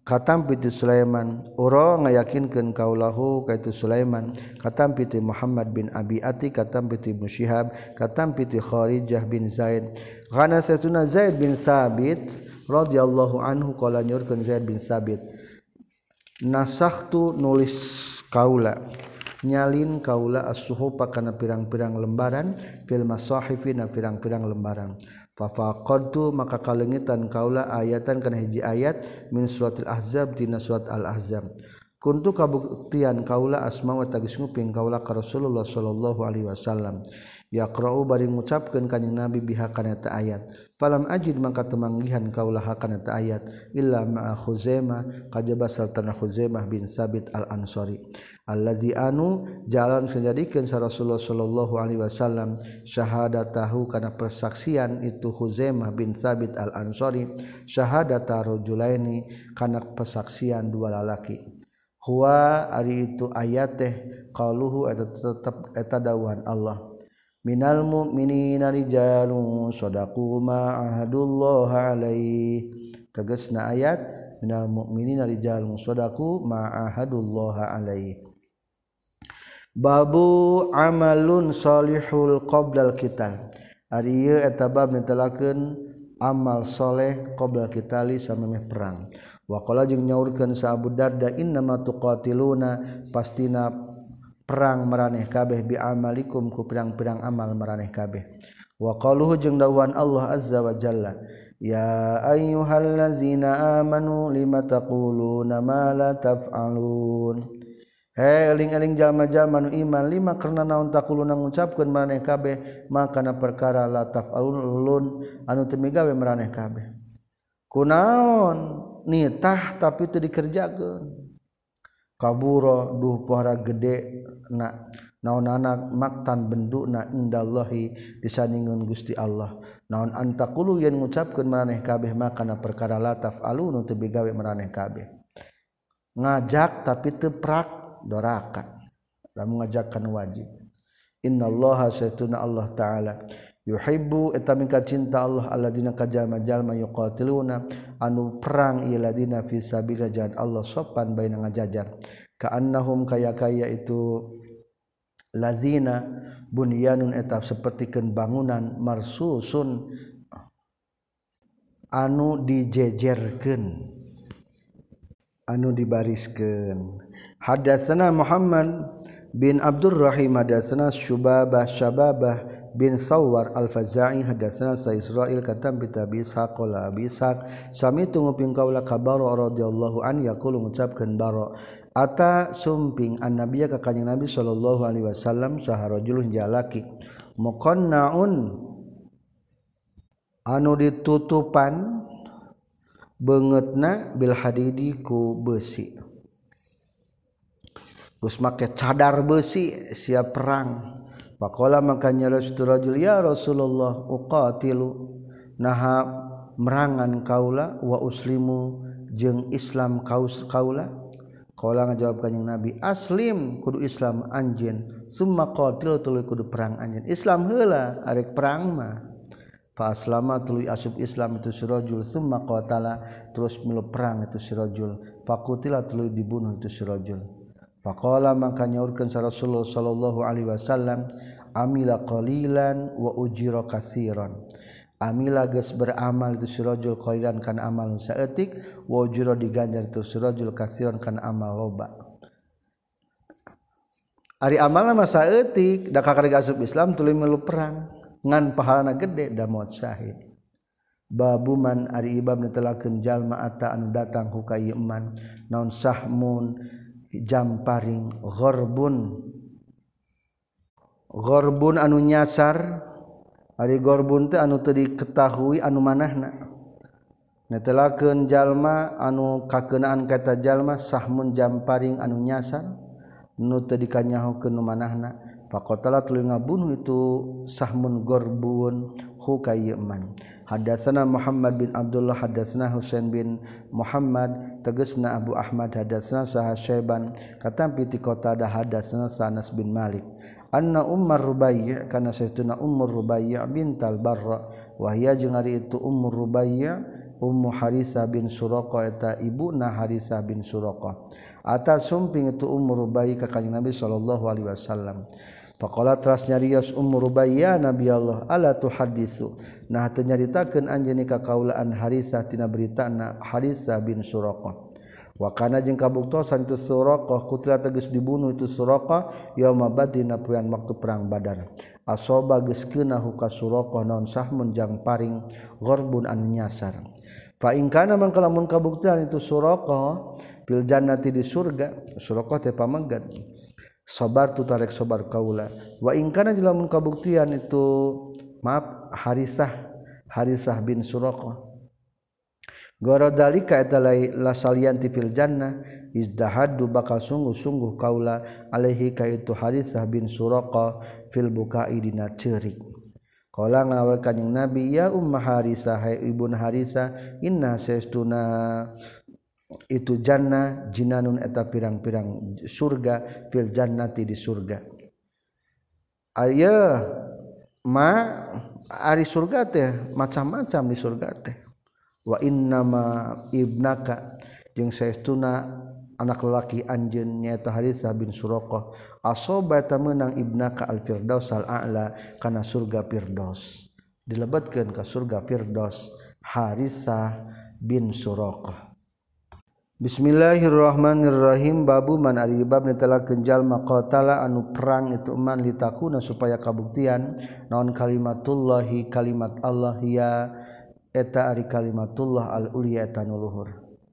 katam piti Sulaiman uro ngayakinkeun kaulahu kaitu Sulaiman katam piti Muhammad bin Abi Ati katam piti Musyihab katam piti Kharijah bin Zaid kana satuna Zaid bin Sabit radhiyallahu anhu qala nyurkeun Zaid bin Sabit nasakhtu nulis kaula nyalin kaula as-suhufa kana pirang-pirang lembaran fil masahifina pirang-pirang lembaran fa faqadtu maka kalengitan kaula ayatan kana hiji ayat min suratil ahzab dina surat al ahzab kuntu kabuktian kaula asma wa tagis nguping kaula ka Rasulullah sallallahu alaihi wasallam yaqra'u bari ngucapkeun kanjing Nabi biha kana ta ayat falam ajid maka temanggihan kaula kana ta ayat illa ma'a Khuzaimah kajaba sartana Khuzaimah bin Sabit al-Ansari allazi anu jalan sajadikeun sa Rasulullah sallallahu alaihi wasallam syahadatahu kana persaksian itu Khuzaimah bin Sabit al-Ansari syahadata rajulaini kana persaksian dua lalaki huwa ari itu ayat teh qauluhu eta tetep eta dawuhan Allah minal mu'minina rijalun shadaqu ma ahadullah alaihi tegasna ayat minal mu'minina rijalun shadaqu ma ahadullah alaihi babu amalun salihul qoblal qital ari ieu eta bab netelakeun amal soleh qoblal qitali samemeh perang wa qala jeung nyaurkeun sa Abu Darda innama tuqatiluna pastina perang maraneh kabeh bi amalikum ku pirang-pirang amal maraneh kabeh wa qaluhu jeung dawuhan Allah azza wa jalla ya ayyuhallazina amanu lima taquluna ma la taf'alun eling-eling jalma-jalma nu iman lima karna naon taquluna ngucapkeun maraneh kabeh makana perkara la taf'alun anu teu migawe maraneh kabeh kunaon nitah tapi teu dikerjakeun kaburo duh pohara gede na naon anak maktan benduna indallahi disandingeun Gusti Allah naon antaqulu yen ngucapkeun maraneh kabeh makana perkara la taf'alun teu bigawe maraneh kabeh ngajak tapi teu prak doraka lamun ngajakkan wajib innallaha satuna Allah taala yuhibbu eta mika cinta Allah alladzina kajama-jalma yuqatiluna anu perang ieu ladina fi sabilillah jalan Allah sopan baina ngajajar ka'annahum kaya itu lazina bunyanun eta sapertikeun bangunan marsusun anu dijejerkeun anu dibariskeun hadatsana Muhammad bin Abdurrahim hadatsana Syubabah bin Sawwar al-Faza'i hadatsana sa Israil katam bi Abi Ishaq qala Abi Ishaq sami tunguping kaula kabaro radhiyallahu an yaqulu ngucapkeun baro ata sumping annabiyya ka kanjing Nabi sallallahu alaihi wasallam saharajulun jalaki muqannaun anu ditutupan beungeutna bil hadidi ku besi geus make cadar besi siap perang faqala makanya rajul ya Rasulullah uqatilu naha merangan kaula wa uslimu jeung Islam kaula qala ngajawab kanjing Nabi aslim kudu Islam anjeun summa qatil tuluy kudu perang anjeun Islam heula arek perang mah fa aslama tuluy asup Islam itu si rajul summa qatala terus milu perang itu si rajul faqutila tuluy dibunuh itu si rajul faqala maka nyaurkeun sa Rasulullah sallallahu alaihi wasallam amila qalilan wa ujira katsiran amila geus beramal itu si rajul qalilan kana amal saeutik wa ujira diganjar itu si rajul katsiran kana amal loba ari amalna mah saeutik da kakarek asup Islam tuluy milu perang ngan pahalana gede da maut syahid babu man ari ibab netelakeun jalma ata anu datang ku ka ieu man naon sahmun jamparing gorbun anu nyasar ari gorbun teh anu teu diketahui anu manahna netelakeun jalma anu kakeunaan kata jalma sahmun jamparing anu nyasar nu teu dikanyahokeun nu manahna faqatala tuluy ngabunuh itu sahmun gorbun hu ka ieu man hadatsana Muhammad bin Abdullah hadatsana Husain bin Muhammad tegasna Abu Ahmad hadatsana Sa'ad Syaiban katam piti Qatadah hadatsana Anas bin Malik anna Ummar Rubai' kana saytuna Ummur Rubai' bintal Barra wa hiya jeung ari itu Ummur Rubai' Ummu Harisah bin Suraqah eta ibuna Harisah bin Suraqah ata sumping itu Ummur Rubai' ka kanjing Nabi sallallahu alaihi wasallam faqala teras nyarios Ummur Rubai' ya Nabi Allah ala tuhaddisu nah teu nyaritakeun anjeun ka kaulaan Harisah tina beritana Harisah bin Suraqah wa kana jeung kabuktosan itu Suraqah kutila tegas dibunuh itu Suraqah yauma badina poean waktu perang Badar asoba geus keunahu ka Suraqah naon sahmun jang paring gharbun anu nyasar fa in kana mangka lamun kabuktian itu Suraqah fil jannati di surga Suraqah teh pamanggat sabar tu tarek sabar kaula wa in kana lamun kabuktian itu maaf Harisah bin Suraqah Gorodalika eta la salianti fil jannah izdahadu bakal sungguh-sungguh kaula alaihi ka itu Harisah bin Suraqah fil bukai dina ceurik. Qala ngawal kanjing Nabi ya Umma Harisah hai ibun Harisah inna saestuna itu jannah jinanun eta pirang-pirang surga fil jannati di surga. Aya ma ari surga teh macam-macam di surga teh. Wa innama ibnaka jeung saestuna anak lelaki anjeun nyaeta Harisah bin Suraqah asoba ta meunang ibnaka al-firdaus al-a'la kana surga firdaus dilebetkeun ka surga firdaus Harisah bin Suraqah. Bismillahirrahmanirrahim babu man ari bab netelakeun jalma qatala anu perang itu man litakuna supaya kabuktian naon kalimatullahi kalimat Allah ya eta ari kalimatullah al-ulya eta nu luhur.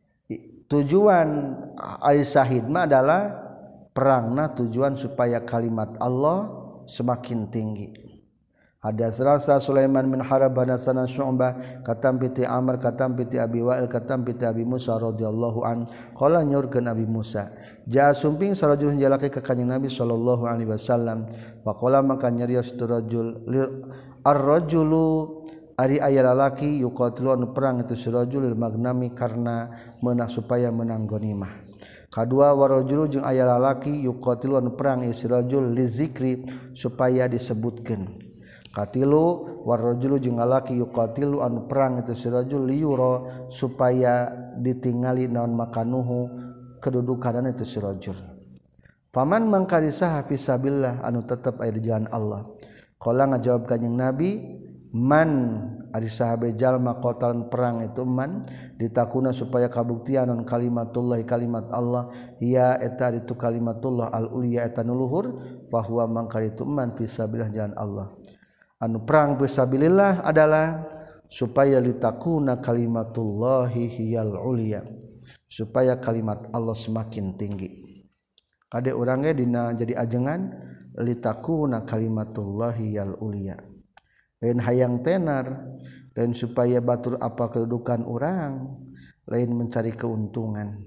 Tujuan ari syahid mah adalah perangna tujuan supaya kalimat Allah semakin tinggi. Hadatsana Sulaiman bin Harb hadatsana Syu'bah katam piti Amr katam piti Abi Wa'il katam piti Abi Musa radhiyallahu an qala nyurkeun Abi Musa jaa sumping sarajul jalaki ka kanjing Nabi sallallahu alaihi wasallam faqala maka nyarios tu rajul ar-rajulu ari aya lalaki yuqatilu anu perang itu sirajulil magnami karena meunang supaya menang ghanimah. Kadua warajulu jeung aya lalaki yuqatilu anu perang sirajul lizikri supaya disebutkeun. Katilu warajulu jeung lalaki yuqatilu anu perang itu sirajul liyura supaya ditingali naon makanuhu kedudukan itu sirajul. Faman mangkarisa hafisabillah anu tetep aya di jalan Allah. Qala ngajawab kanjing Nabi man ari sahabe jalma qatalan perang itu man ditakuna supaya kabuktian non kalimatullah kalimat Allah ya eta itu kalimatullah al-ulya eta nu luhur fa huwa mangka itu man fisabilillah jalan Allah anu perang fisabilillah adalah supaya litakuna kalimatullahi hiyal ulya supaya kalimat Allah semakin tinggi kade urang ge dina jadi ajengan litakuna kalimatullahi hiyal ulya lain hayang tenar dan supaya batur apa kedudukan orang lain mencari keuntungan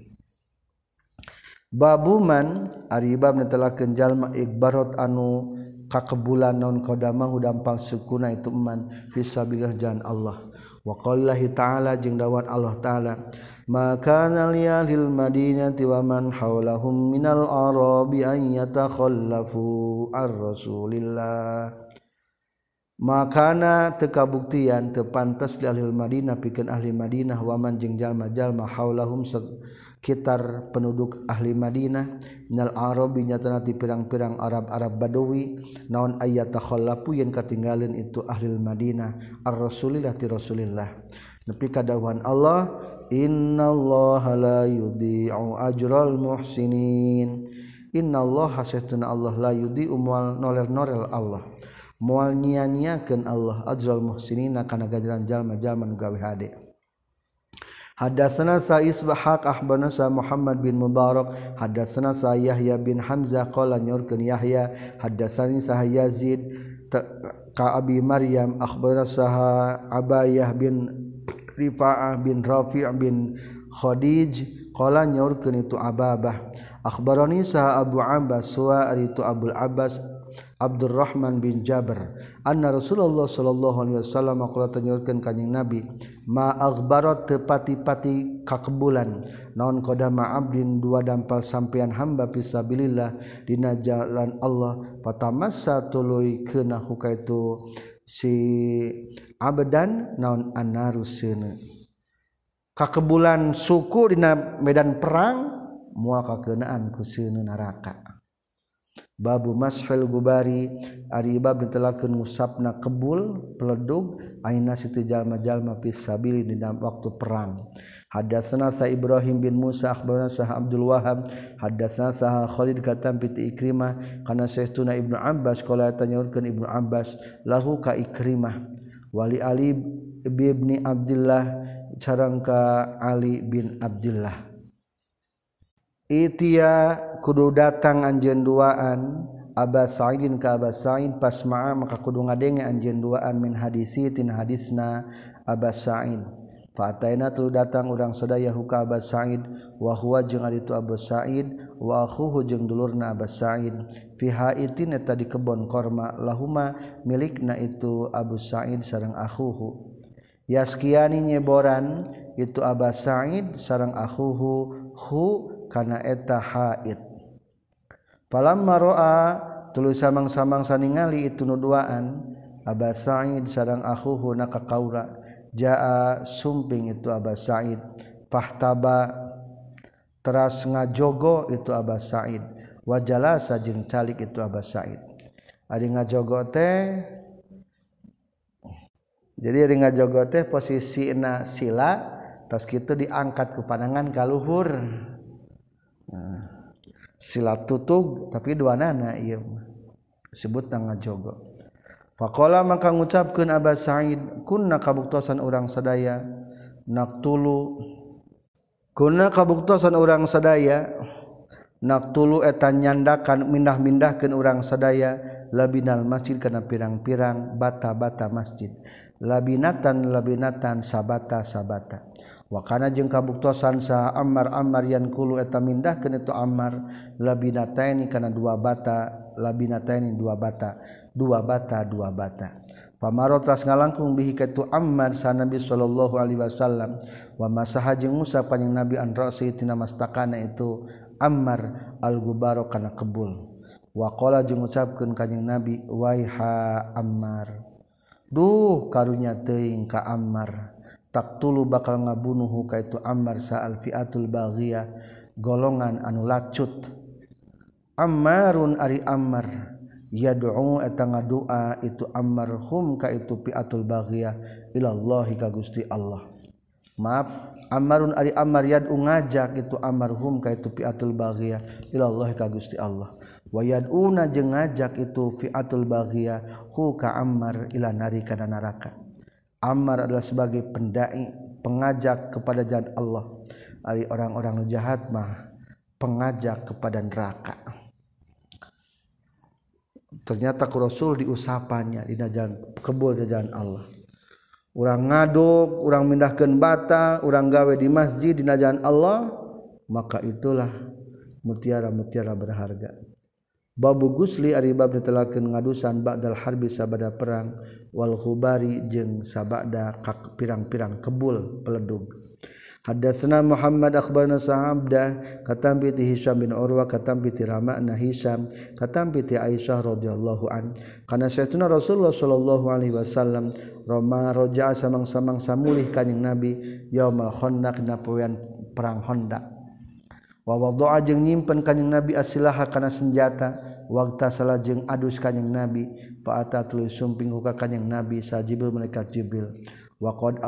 babuman ari bab netelakeun jalma ikbarot anu kakebulan naon qadamahu dampal sukuna itu man fisabilillah jalan Allah wa qallahi ta'ala jeung dawuh Allah ta'ala maka lil madinati wa man haulahum minal arabi an yatakhallafu ar-rasulillah makana teu kabuktian teu pantes di ahli Madinah pikeun ahli Madinah waman jeung jalma-jalma haulahum sekitar penduduk ahli Madinah minal arabi nyatana ti pirang-pirang Arab-Arab Badawi naon aya takhallafu yen katinggalin itu ahli Madinah ar-rasulillah ti Rasulillah nepi ka dawuhan Allah innallaha la yudhi'u ajral muhsinin innallaha saestuna Allah la yudhi'u moal norel-norel Allah moal nia-niakeun Allah ajral muhsinina kana ganjaran jalma-jalma nu gawe hade. Hadatsana sa Isbahaq akhbarana sa Muhammad bin Mubarak hadatsana sa Yahya bin Hamzah qala nyorkeun Yahya hadatsani sa Yazid ka Abi Maryam akhbarana sa Abayah bin Rifa'ah bin Rafi' bin Khadij qala nyorkeun itu Ababah akhbarani sa Abu Abbas wa itu Abul Abbas Abdurrahman bin Jabir anna Rasulullah sallallahu alaihi wasallam qala tanyaurkeun kanjing Nabi ma aghbarat tepati-pati kakebulan naon qadama abdin dua dampal sampean hamba fisabilillah dina jalan Allah fatamassa tuluy keuna hukaitu si abdan naon annaruseuna kakebulan suku dina medan perang moal kakeunaan ku seuneun neraka. Babu mashil gubari ari bab ditelakeun ngusapna kebul peledug aina situ jalma-jalma fisabili dina waktu perang. Hadatsana sa Ibrahim bin Musa akhbarana sa Abdul Wahhab hadatsana sa Khalid katam piti Ikrimah kana saestuna Ibnu Abbas qala tanyaurkeun Ibnu Abbas lahu ka Ikrimah wali Ali bin Abdullah sareng ka Ali bin Abdullah Itia kudu datang anjeun duaan Aba Sa'idin ka Aba Sa'id pasma'a maka kudu ngadenge anjeun duaan min hadisi tin hadisna Aba Sa'id fa ataina tu datang urang sadaya ka Aba Sa'id wa huwa jeung ari tu Abu Sa'id wa akhuhu jeung dulurna Aba Sa'id fi haitin eta di kebon korma lahuma milikna itu Abu Sa'id sareng akhuhu yaskiani nyeboran itu Aba Sa'id sareng akhuhu hu kana eta haid falamma ra'a tuluy samang-samang saningali itu nuduaan Aba Sa'id sareng akhuhu naka kaura jaa sumping itu Aba Sa'id fahtaba teras ngajogo itu Aba Sa'id wajalasa jeung calik itu Aba Sa'id ari ngajogo teh jadi ari ngajogo teh posisina sila tos kitu diangkat ku pandangan ka luhur. Sila tutug tapi duanana ieu disebutna ngajogo. Faqala maka ngucapkeun Aba Sa'id kunna kabuktosan urang sadaya naqtulu kunna kabuktosan urang sadaya naqtulu eta nyandakan mindah-mindahkeun urang sadaya labinal masjid kana pirang-pirang bata-bata masjid labinatan sabata wa kana jeung kabuktosan sa Ammar yan kulu eta mindahkeun itu Ammar labinataini kana dua bata pamaro tas ngalangkung bihi ka itu Ammar sa Nabi sallallahu alaihi wasallam wa masaha jeung Musa panjang Nabi an ra'si tina mastakana itu Ammar al-gubaro kana kebul wa qala jeung ngucapkeun kanjing Nabi waiha Ammar duh karunya teuing ka Ammar taktulu bakal ngabunuh ka itu Ammar sa alfiatul baghiyah golongan anu lacut Ammarun ari Ammar yad'u eta ngadua itu Ammar hum ka itu fiatul baghiyah ilallahi ka Gusti Allah maaf Ammarun ari Ammar yad'u ngajak itu Ammar hum ka itu fiatul baghiyah ilallahi ka Gusti Allah wa yad'una jeung ngajak itu fiatul baghiyah hu ka Ammar ila nari kana neraka. Ammar adalah sebagai pendai pengajak kepada jalan Allah. Ari orang-orang jahat mah pengajak kepada neraka. Ternyata ku Rasul diusapannya di jalan kebul di jalan Allah. Urang ngaduk, urang mindahkeun bata, urang gawe di masjid di jalan Allah, maka itulah mutiara-mutiara berharga. Babu gusli ari bab ditelakeun ngadusan ba'dal harbi sabada perang wal khubari jeung sabada pirang-pirang kebul peledug. Hadatsana Muhammad akhbarana Sa'abda katam bi Hisham bin Urwa katam bi Rama'na Hisham katam bi Aisyah radhiyallahu an kana sayyidina Rasulullah sallallahu alaihi wasallam roma roja'a samang-samang samulih kanjing Nabi yaumul Khandaq dina poean perang Khandaq. Wa wada'a jeung nyimpen kanjing Nabi asilaha kana senjata waqta salah jeung adus kanjing Nabi fa ata tuluy sumping ka kanjing Nabi sa Jibril malaikat Jibril wa qad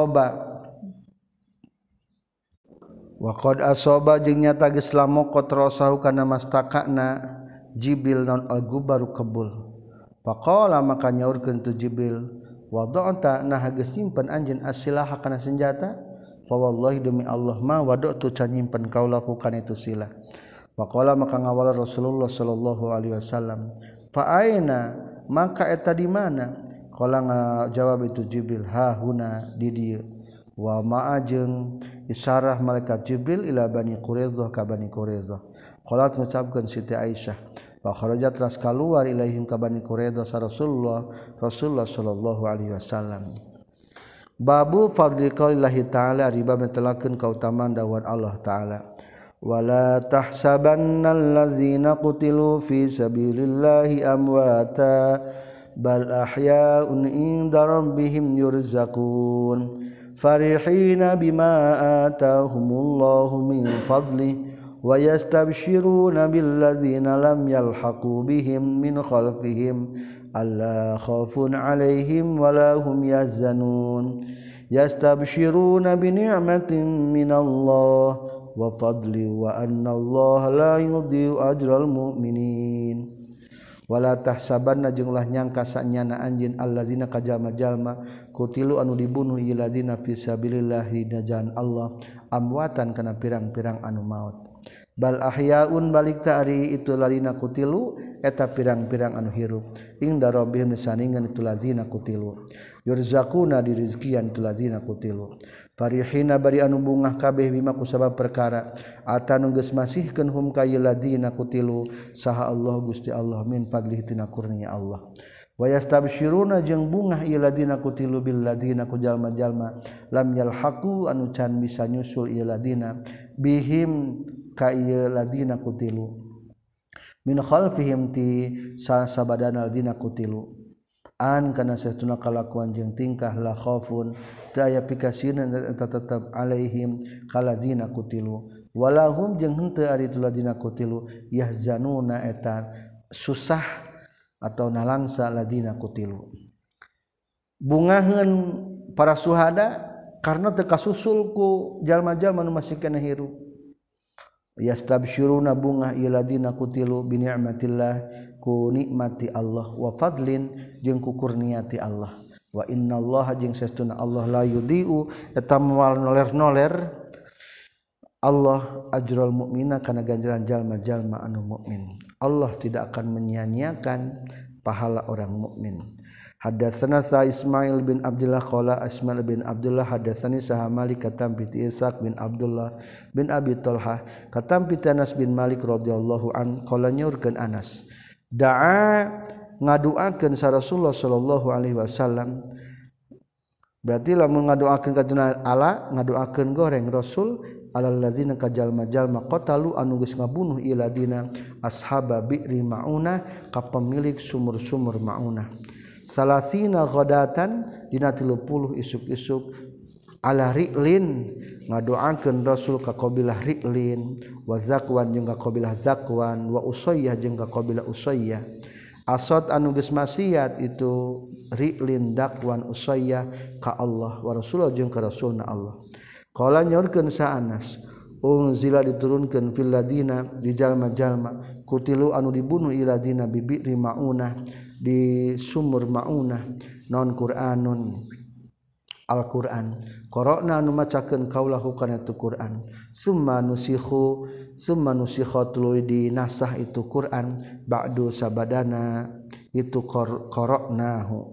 asaba jeung nyata geus lamokot rasahu kana mastakana Jibril non al-gubaru kebul faqala maka nyaurkeun tu Jibril wada'ta nah geus nyimpen anjeun asilaha kana senjata fa wallahi demi Allah ma wada'tu can nyimpen kaula kana itu silah faqala maka ngawala Rasulullah sallallahu alaihi wasallam fa aina maka eta di mana qala ngajawab itu Jibril ha huna di dieu wa ma'a jeung isyarah malaikat Jibril ila Bani Quraidah ka Bani Quraidah qalat ngucapkeun Siti Aisyah kharaja teras kaluar ilaihim ka Bani Quraidah sa Rasulullah sallallahu alaihi wasallam. Babu fadli qaulillahi ta'ala riba metelakeun kautamaan dawuh Allah taala wala tahsabannal ladzina qutilu fi sabilillahi amwata bal ahya'un 'inda rabbihim yurzaqun farihina bima atahumullahu min fadli wa yastabshiruna billadzina lam yalhaqu bihim min khalfihim alla khaufun 'alaihim wala hum yahzanun yastabshiruna bi ni'matin minallah wa fadli wa annallaha la yudhi'u ajral mu'minin wala tahsabanna jeung ulah nyangka sanyana anjeun allazina kajama-jalma kutilu anu dibunuh ieu ladina fi sabilillah dina jalan Allah amwatan kana pirang-pirang anu maut bal ahyaun balik ta'ari itu ladina kutilu eta pirang-pirang anu hirup inda rabbihim saningan itu ladina kutilu yurzaquna dirizqian itu ladina kutilu farihina bari anu bungah kabeh bima kusabab perkara atanu geus masihkeun hum ka ladina kutilu saha Allah Gusti Allah min fadlihi tina kurnia Allah wa yastabsyiruna jeung bungah ieu ladina kutilu bil ladina ku jalma-jalma lam yalhaqu anu can bisa nyusul ieu ladina bihim ka ieu ladina kutilu min khalfihim ti sabadana ladina kutilu an kana satuna kalakuan jeung tingkah la khaufun teu aya pikasieun eta tetep alaihim kaladina kutilu walahum jeung henteu ari tu ladina kutilu yahzanuna eta susah atau nalangsa ladina kutilu bungaheun para suhada karena teu kasusul ku jalma-jalma nu masih kana hirup yastabsyiruna bungah ieu ladina kutilu bi ni'matillah ku nikmati Allah wa fadlin jeung ku kurniati Allah wa innallaha jeung sesuna Allah la yudhi'u eta moal noler-noler Allah ajral mukmina kana ganjaran jalma-jalma anu mukmin Allah tidak akan menyia-nyiakan pahala orang mukmin. Hadatsana sa Ismail bin Abdullah qala Ismail bin Abdullah hadatsani saha Malik katam bi Ishaq bin Abdullah bin Abi Talha katam bi Anas bin Malik radhiyallahu an qala nyurkeun Anas da'a ngaduakeun sa Rasulullah sallallahu alaihi wasallam berarti lamun ngaduakeun ka Allah ngaduakeun goreng Rasul alal ladzina kajalma-jalma qatalu anu geus ngabunuh ieu ladina ashaba bi'ri maunah ka pemilik sumur-sumur maunah salasina ghadatan dina 30 isuk-isuk ala ri'lin ngadoakeun Rasul ka qabilah ri'lin wa zakwan jeung ka qabilah zakwan wa usayyah jeung ka qabilah usayyah asad anu geus maksiat itu ri'lin dakwan usayyah ka Allah wa Rasulullah jeung ka Rasulna Allah qala nyorkeun sa Anas unzila diturunkeun fil ladina di jalma-jalma kutilu anu dibunuh iladina bibi'ri maunah di sumur maunah non Qur'anun Al-Qur'an qara'na anu macakeun kaulahu kana tu Qur'an summa nusikhatul di nasah itu Qur'an ba'du sabadana itu qara'nahu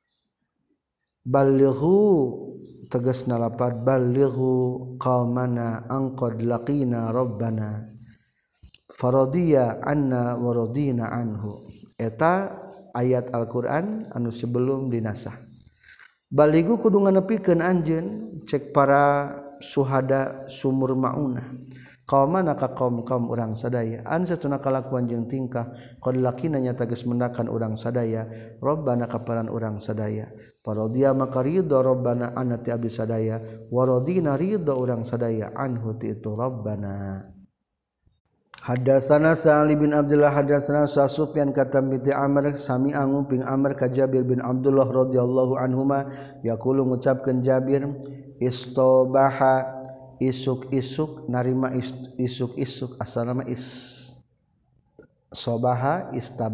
balighu tegasna lapad balighu qaumana anqad laqina rabbana faradiya anna wa radina anhu eta ayat Al-Qur'an anu sebelum dinasah baligu kudu nganepikeun anjeun cek para suhada sumur maunah qaumana ka kaum urang sadaya an satuna kalakuan jeung tingkah qad laqina nya tegas mendakan urang sadaya rabbana kaparan urang sadaya paradiya maka ridha rabbana anati abi sadaya wa radina ridha urang sadaya anhu ti itu rabbana. Hadatsana Sa'ali bin Abdullah hadatsana Sufyan katam bi Amr sami anguping Amr ka Jabir bin Abdullah radhiyallahu anhuma yaqulu ngucapkeun Jabir istabaha isuk-isuk narima isuk-isuk asalna sobaha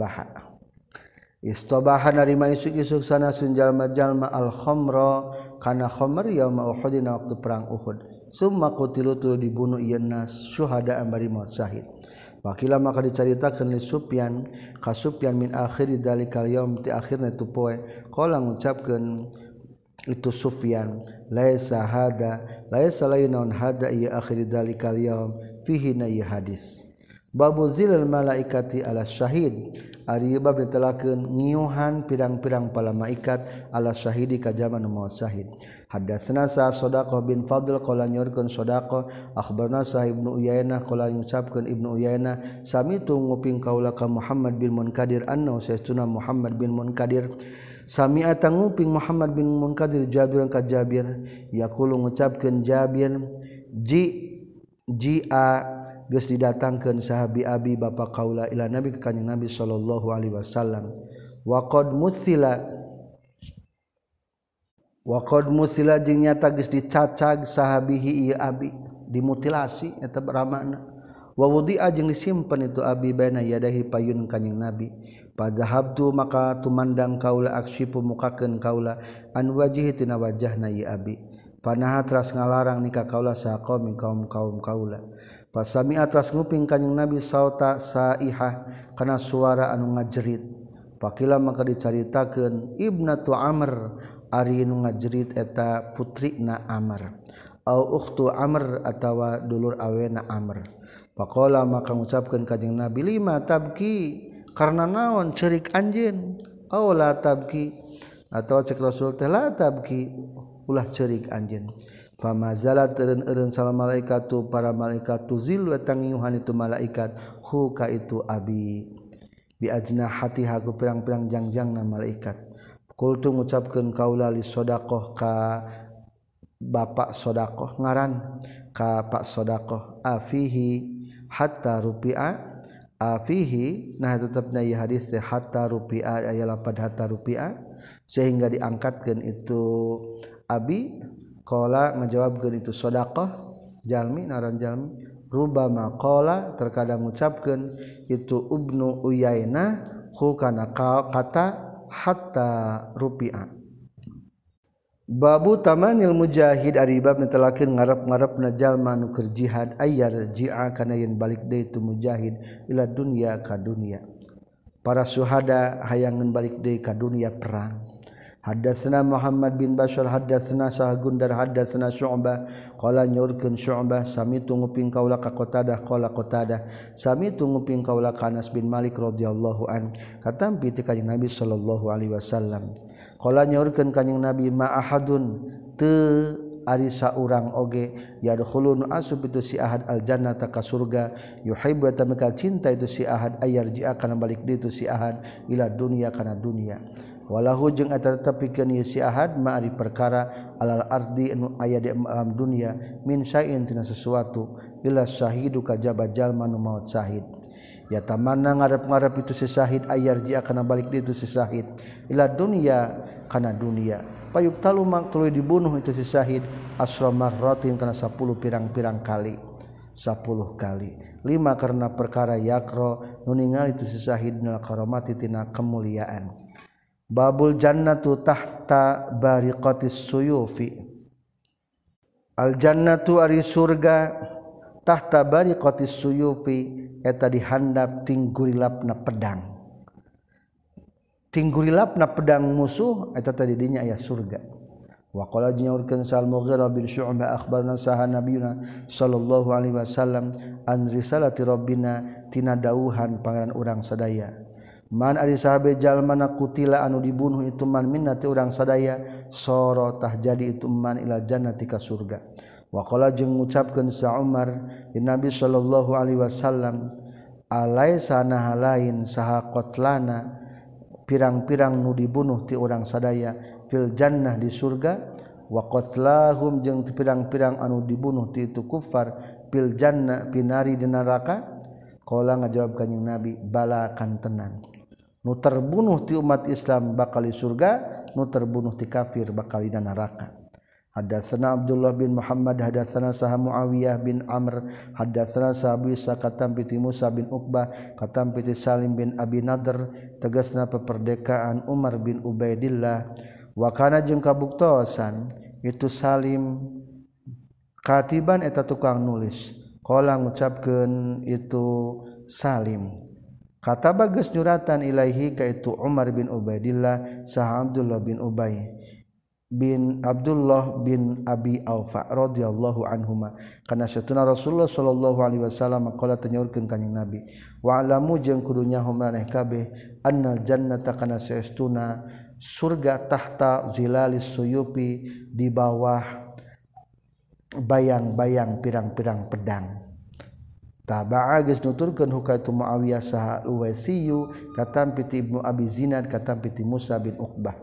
istabaha narima isuk-isuk sana sun jalma-jalma al-khamra kana khamr yauma Uhud dina waktu perang Uhud summa qutilu tu dibunuh ieu nas syuhada ambari maut syahid wakila maka dicaritakeun li Sufyan ka Sufyan min akhir dalikal yaum ti akhirna tu poe qala ngucapkeun itu Sufyan laisa lain naun hada ya akhir dalikal yaum fihi na ya hadis Babu zilal malaikati ala syahid ari bab ditelakeun ngiuhan pirang-pirang pala malaikat ala syahidi ka jaman maut syahid. Hadatsana sa Sadaqah bin Fadl qala nyorkeun Sadaqah akhbarna sa Ibnu Uyainah qala ngucapkeun Ibnu Uyainah samitu nguping kaula ka Muhammad bin Munkadir anna sayyiduna Muhammad bin Munkadir sami'ata nguping Muhammad bin Munkadir Jabir ka Jabir yaqulu ngucapkeun Jabir ji'a geus didatangkeun sahabi abi bapa kaula ila nabi ka kanjing Nabi sallallahu alaihi wasallam wa qad musila jeung nyata geus dicacag sahabihi ieu abi dimutilasi eta beramana wa wudi'a jeung disimpen itu abi baina yadahi payun kanjing Nabi padzahabtu maka tumandang kaula aksyipu mukakeun kaula an wajhi tina wajahna ieu abi panaha teras ngalarang nikah kaula saha kaum kaula pasami atas nguping kanjing Nabi sauta saihah kana suara anu ngajerit pakila maka dicaritakeun ibnatu Amr ari nu ngajerit eta putrina Amr au ukhtu Amr atawa dulur awena Amr faqala maka ngucapkeun kanjing Nabi lima tabki karna naon ceurik anjeun au la tabki atawa cek Rasul teh la tabki ulah ceurik anjeun famazala teureun salam malaikatu para malaikat tuzil wa tangiuhan itu malaikat hu ka itu abi bi ajnahatiha ku pirang-pirang jangjangna malaikat qultu ngucapkeun kaula li Sadaqah ka bapak Sadaqah ngaran ka Pak Sadaqah afihi hatta rupi'a afihi nah tetepna ieu hadis teh hatta rupi'a aya lapad hatta rupi'a sehingga diangkatkeun itu abi qala ngajawabkeun itu Sadaqah jalmi naran jalmi rubama qala terkadang ngucapkeun itu Ibnu Uyainah hu kana kata hatta rupi'a babu tamanil mujahid ari bab netelakeun ngarep-ngarepna jalma nu keur jihad ayyar ji'a kana yen balik deui itu mujahid ila dunya ka dunya para syuhada hayangeun balik deui ka dunya perang. Hadatsana Muhammad bin Bashar hadatsana Sahgundar hadatsana Syu'bah qala nyorkeun Syu'bah samitu nguping kaula ka Qatadah qala Qatadah samitu nguping kaula ka Anas bin Malik radhiyallahu an katampi ti kanjing Nabi sallallahu alaihi wasallam qala nyorkeun kanjing Nabi ma ahadun teu ari saurang oge yadkhulun asub itu si ahad al jannata ka surga yuhibbu tamaka cinta itu si ahad ayarji'a kana balik deui itu si ahad ila dunya kana dunya walahu jeung eta tetepikeun ieu si ahad ma ari perkara alal ardi anu aya di alam dunya min syai'in tina sesuatu ila syahidu kajaba jalma nu maut syahid ya tamanna ngarep-ngarep itu si syahid ayarji kana balik deui itu si syahid ila dunya kana dunya payuk talu mak tuluy dibunuh itu si syahid asra marratin kana 10 pirang-pirang kali 10 kali 5 karena perkara yakro nu ningali itu si syahid nal karamati tina kemuliaan. Babul jannatu tahta bariqatis suyufi al jannatu ari surga tahta bariqatis suyufi eta dihandap tinggurilapna pedang musuh eta tadi dinya aya surga wa qala nyaurkeun Sal Mughirah bin Syu'bah akhbarna saha nabiyuna sallallahu alaihi wasallam an risalati rabbina tina dawuhan pangeran urang sadaya man ari sahabe jalmana kutila anu dibunuh itu man minnati urang sadaya soro tah jadi itu man ila jannati ka surga wa qala jeung ngucapkeun sa Umar di Nabi sallallahu alaihi wasallam alaisa nahalain saha qatlana pirang-pirang nu dibunuh ti urang sadaya fil jannah di surga wa qatlahum jeung pirang-pirang anu dibunuh ti itu kufar fil jannah pinari di neraka qala ngajawab kanjing Nabi bala kan tenan nu terbunuh ti umat Islam bakal di surga nu terbunuh ti kafir bakal di neraka. Hadatsana Abdullah bin Muhammad hadatsana saha Muawiyah bin Amr hadatsana sahabi sakatam piti Musa bin Uqbah katam piti Salim bin Abi Nadr tegasna peperdekaan Umar bin Ubaidillah wa kana jeung kabuktosan itu Salim katiban eta tukang nulis qala ngucapkeun itu Salim kata bagus juratan ilaihi ka itu Umar bin Ubaidillah saha Abdullah bin Ubay bin Abdullah bin Abi Aufa radhiyallahu anhuma kana satuna Rasulullah sallallahu alaihi wasallam qala tanyaurkeun kanjing Nabi wa alamu jeung kudu nyaho maneh kabeh annal jannata kana saestuna surga tahta zilalis suyupi di bawah bayang-bayang pirang-pirang pedang taba'a geus nuturkeun hukaitu Muawiyah saha Uwaisiyu katampi ti Ibnu Abi Zinad katampi ti Musa bin Uqbah.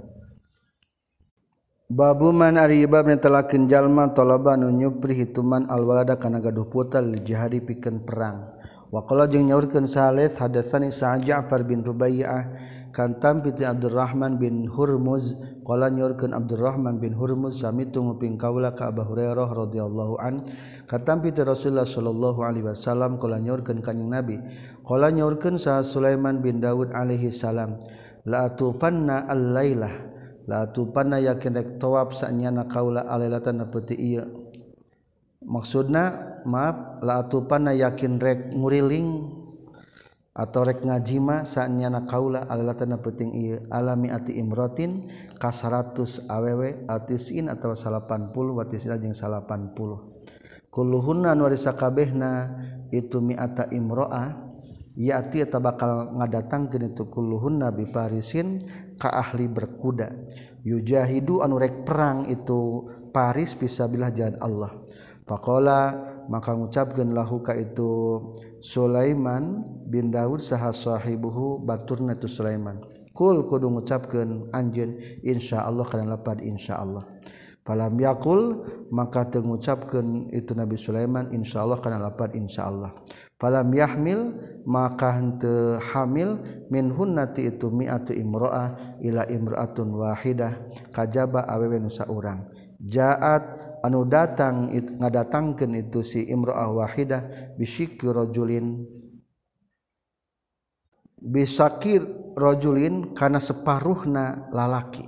Babu man ari bab netelakeun jalma talaba nu nyupri hituman alwalada kana gaduh putra lil jihadi pikeun perang. Wa qala jeung nyaurkeun Salih hadatsani Sa'ad Ja'far bin Rubaiyah kan tampi ti Abdurrahman bin Hurmuz qala nyaurkeun Abdurrahman bin Hurmuz samitu nguping kaula ka Abu Hurairah radhiyallahu an katampi ti Rasulullah sallallahu alaihi wasallam qala nyaurkeun kanjing Nabi qala nyaurkeun sa Sulaiman bin Daud alaihi salam la tufanna al-lailah la tupana yakin rek tawaf sanyana kaula alailatan peuti ieu maksudna maaf la tupana yakin rek nguriling atau rek ngajima sanyana kaula alailatan peuting ieu alami ati imrotin ka 100 awewe atisin atawa 80 watisina jeung 80 kulluhunna nu ari sakabehna itu mi'ata imro'ah yati eta bakal ngadatangkeun itu kulluhunna bi parisin ka ahli berkuda yujahidu anu rek perang itu paris fisabilillah jalan Allah faqala maka ngucapkeun lahu ka itu Sulaiman bin Daud saha sahibuhu baturna itu Sulaiman kul kudu ngucapkeun anjeun insyaallah kana lapad insyaallah falam yaqul maka teu ngucapkeun itu Nabi Sulaiman insyaallah kana lapad insyaallah falam yahmil maka henteu hamil minhunnati itu mi'atu imro'ah ila imra'atun wahidah kajaba awewe nu saurang jaat anu datang ngadatangkeun itu si imro'ah wahidah bisyikir rajulin bisakir rajulin kana separuhna lalaki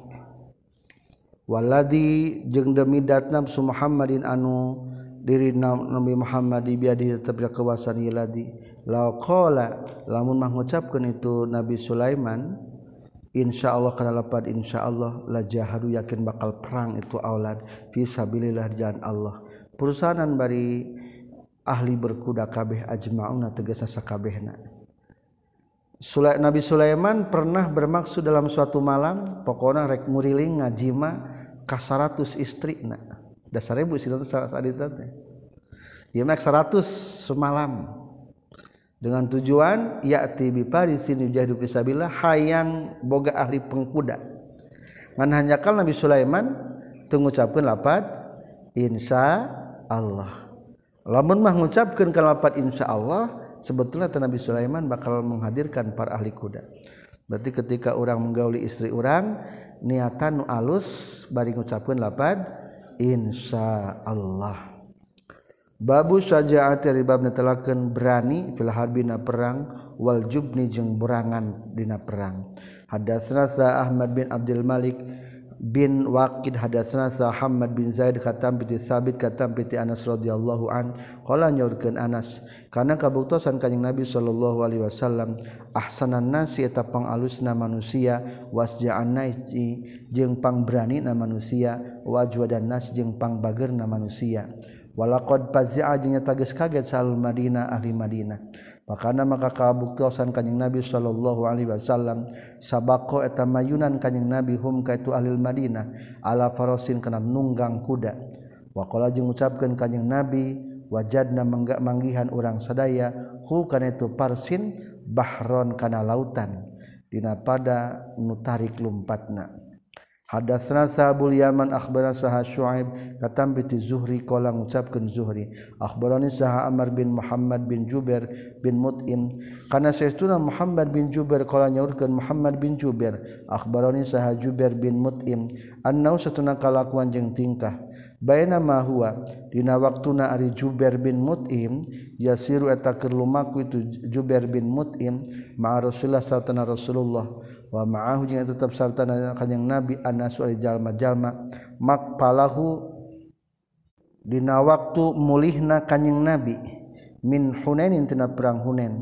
waladi jeung demi datna su Muhammadin anu diri Nabi Muhammad di biadi tetap kekuasaan yiladi la qala lamun mah ngucapkeun itu Nabi Sulaiman insyaallah kana lapad insyaallah la jahadu yakin bakal perang itu aulad fi sabilillah jalan Allah perusahaan bari ahli berkuda kabeh ajmauna tegasna sakabehna Nabi Sulaiman pernah bermaksud dalam suatu malam pokona rek muriling ngajima ka 100 istrina da 1000 sila sadita teh. Ieu mah 100 semalam. Dengan tujuan ya'ti bi parisin yujahidu fisabilillah hayang boga ahli pengkuda. Ngan hanjakal Nabi Sulaiman teu ngucapkeun lapad insyaallah. Lamun mah ngucapkeun ka lapad insyaallah sebetulnya Nabi Sulaiman bakal menghadirkan para ahli kuda. Berarti ketika orang menggauli istri orang niatan nu alus bari ngucapkeun lapad insyaallah. Babu syaja'ati ribabna telakeun berani fil harbina perang wal jubni jeung berangan dina perang. Hadatsana Ahmad bin Abdul Malik bin Waqid hadatsana Muhammad bin Zaid katam bi Sabit katam bi Anas radhiyallahu an qala nyaurkeun Anas kana kabuktosan kanjing Nabi sallallahu alaihi wasallam ahsanan nasi eta pangalusna manusia wasja'an nasi jeung pangberanina manusia wajwadan nas jeung pangbageurna manusia walaqad fazi'a jeung nyata geus kaget salul Madinah ahli Madinah makana maka kabuktosan kanjing Nabi sallallahu alaihi wasallam sabaqo eta mayunan kanjing Nabi hum ka itu ahli Madinah ala farasin kana nunggang kuda wa qala jeung ngucapkeun kanjing Nabi wajadna manggihan urang sadaya hu kana itu parsin bahron kana lautan dina pada nu tarik lumpatna. Hadatsana Sabul Yaman akhbarana Saha Syuaib katam bi Zuhri qala ngucapkeun Zuhri akhbarani Saha Amr bin Muhammad bin Jubair bin Mut'im kana saestuna Muhammad bin Jubair qala nyaurkeun Muhammad bin Jubair akhbarani Saha Jubair bin Mut'im annau satuna kalakuan jeung tingkah baina ma huwa dina waktuna ari Jubair bin Mut'im yasiru eta keur lumaku itu Jubair bin Mut'im ma Rasulullah sallallahu Rasulullah wa ma'ahu jeung tetep sartana kanjing Nabi anasu ari jalma-jalma makpalahu dina waktu mulihna kanjing Nabi min Hunainin tina perang Hunain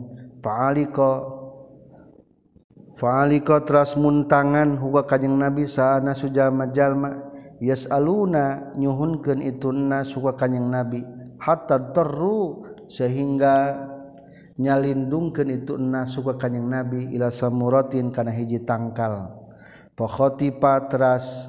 fa'alika teras muntangan huwa kanjing Nabi saana jalma-jalma yas'aluna nyuhunkeun itu nas ka kanjing nabi hatta terru sehingga nyalindungkeun itu nas ka kanjing nabi ila samuratin kana hiji tangkal fa khatipa teras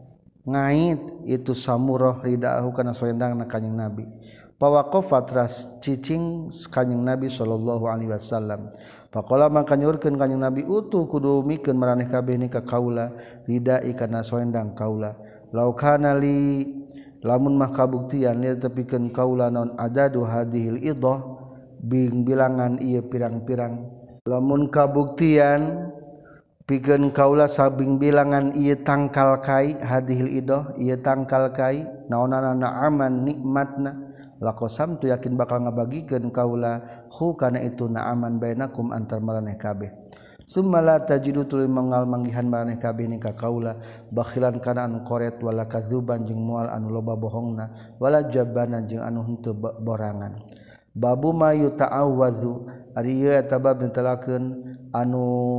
ngait itu samurah ridahu kana selendangna kanjing nabi pawaqafa teras cicing kanjing nabi sallallahu alaihi wasallam faqala maka nyurkeun kanjing nabi utu kudu mikeun maraneh kabeh ni ka kaula ridai kana selendang kaula law kana li lamun mah kabuktian li tepikeun kaula naon adadu hadhil idah bing bilangan ieu pirang-pirang lamun kabuktian pikeun kaula sabing bilangan ieu tangkal kai hadhil idah ieu tangkal kai naonana na'aman nikmatna laqasam tu yakin bakal ngabagikeun kaula hu kana itu na'aman bainakum antar maraneh kabeh summa la tajidu tuluy mangal manggihan maraneh kabeh ni ka kaula bakhilan kana anu koret wala kazuban jeung moal anu loba bohongna wala jabanan jeung anu henteu borangan babu mayu ta'awwazu ari ieu eta bab netelakeun anu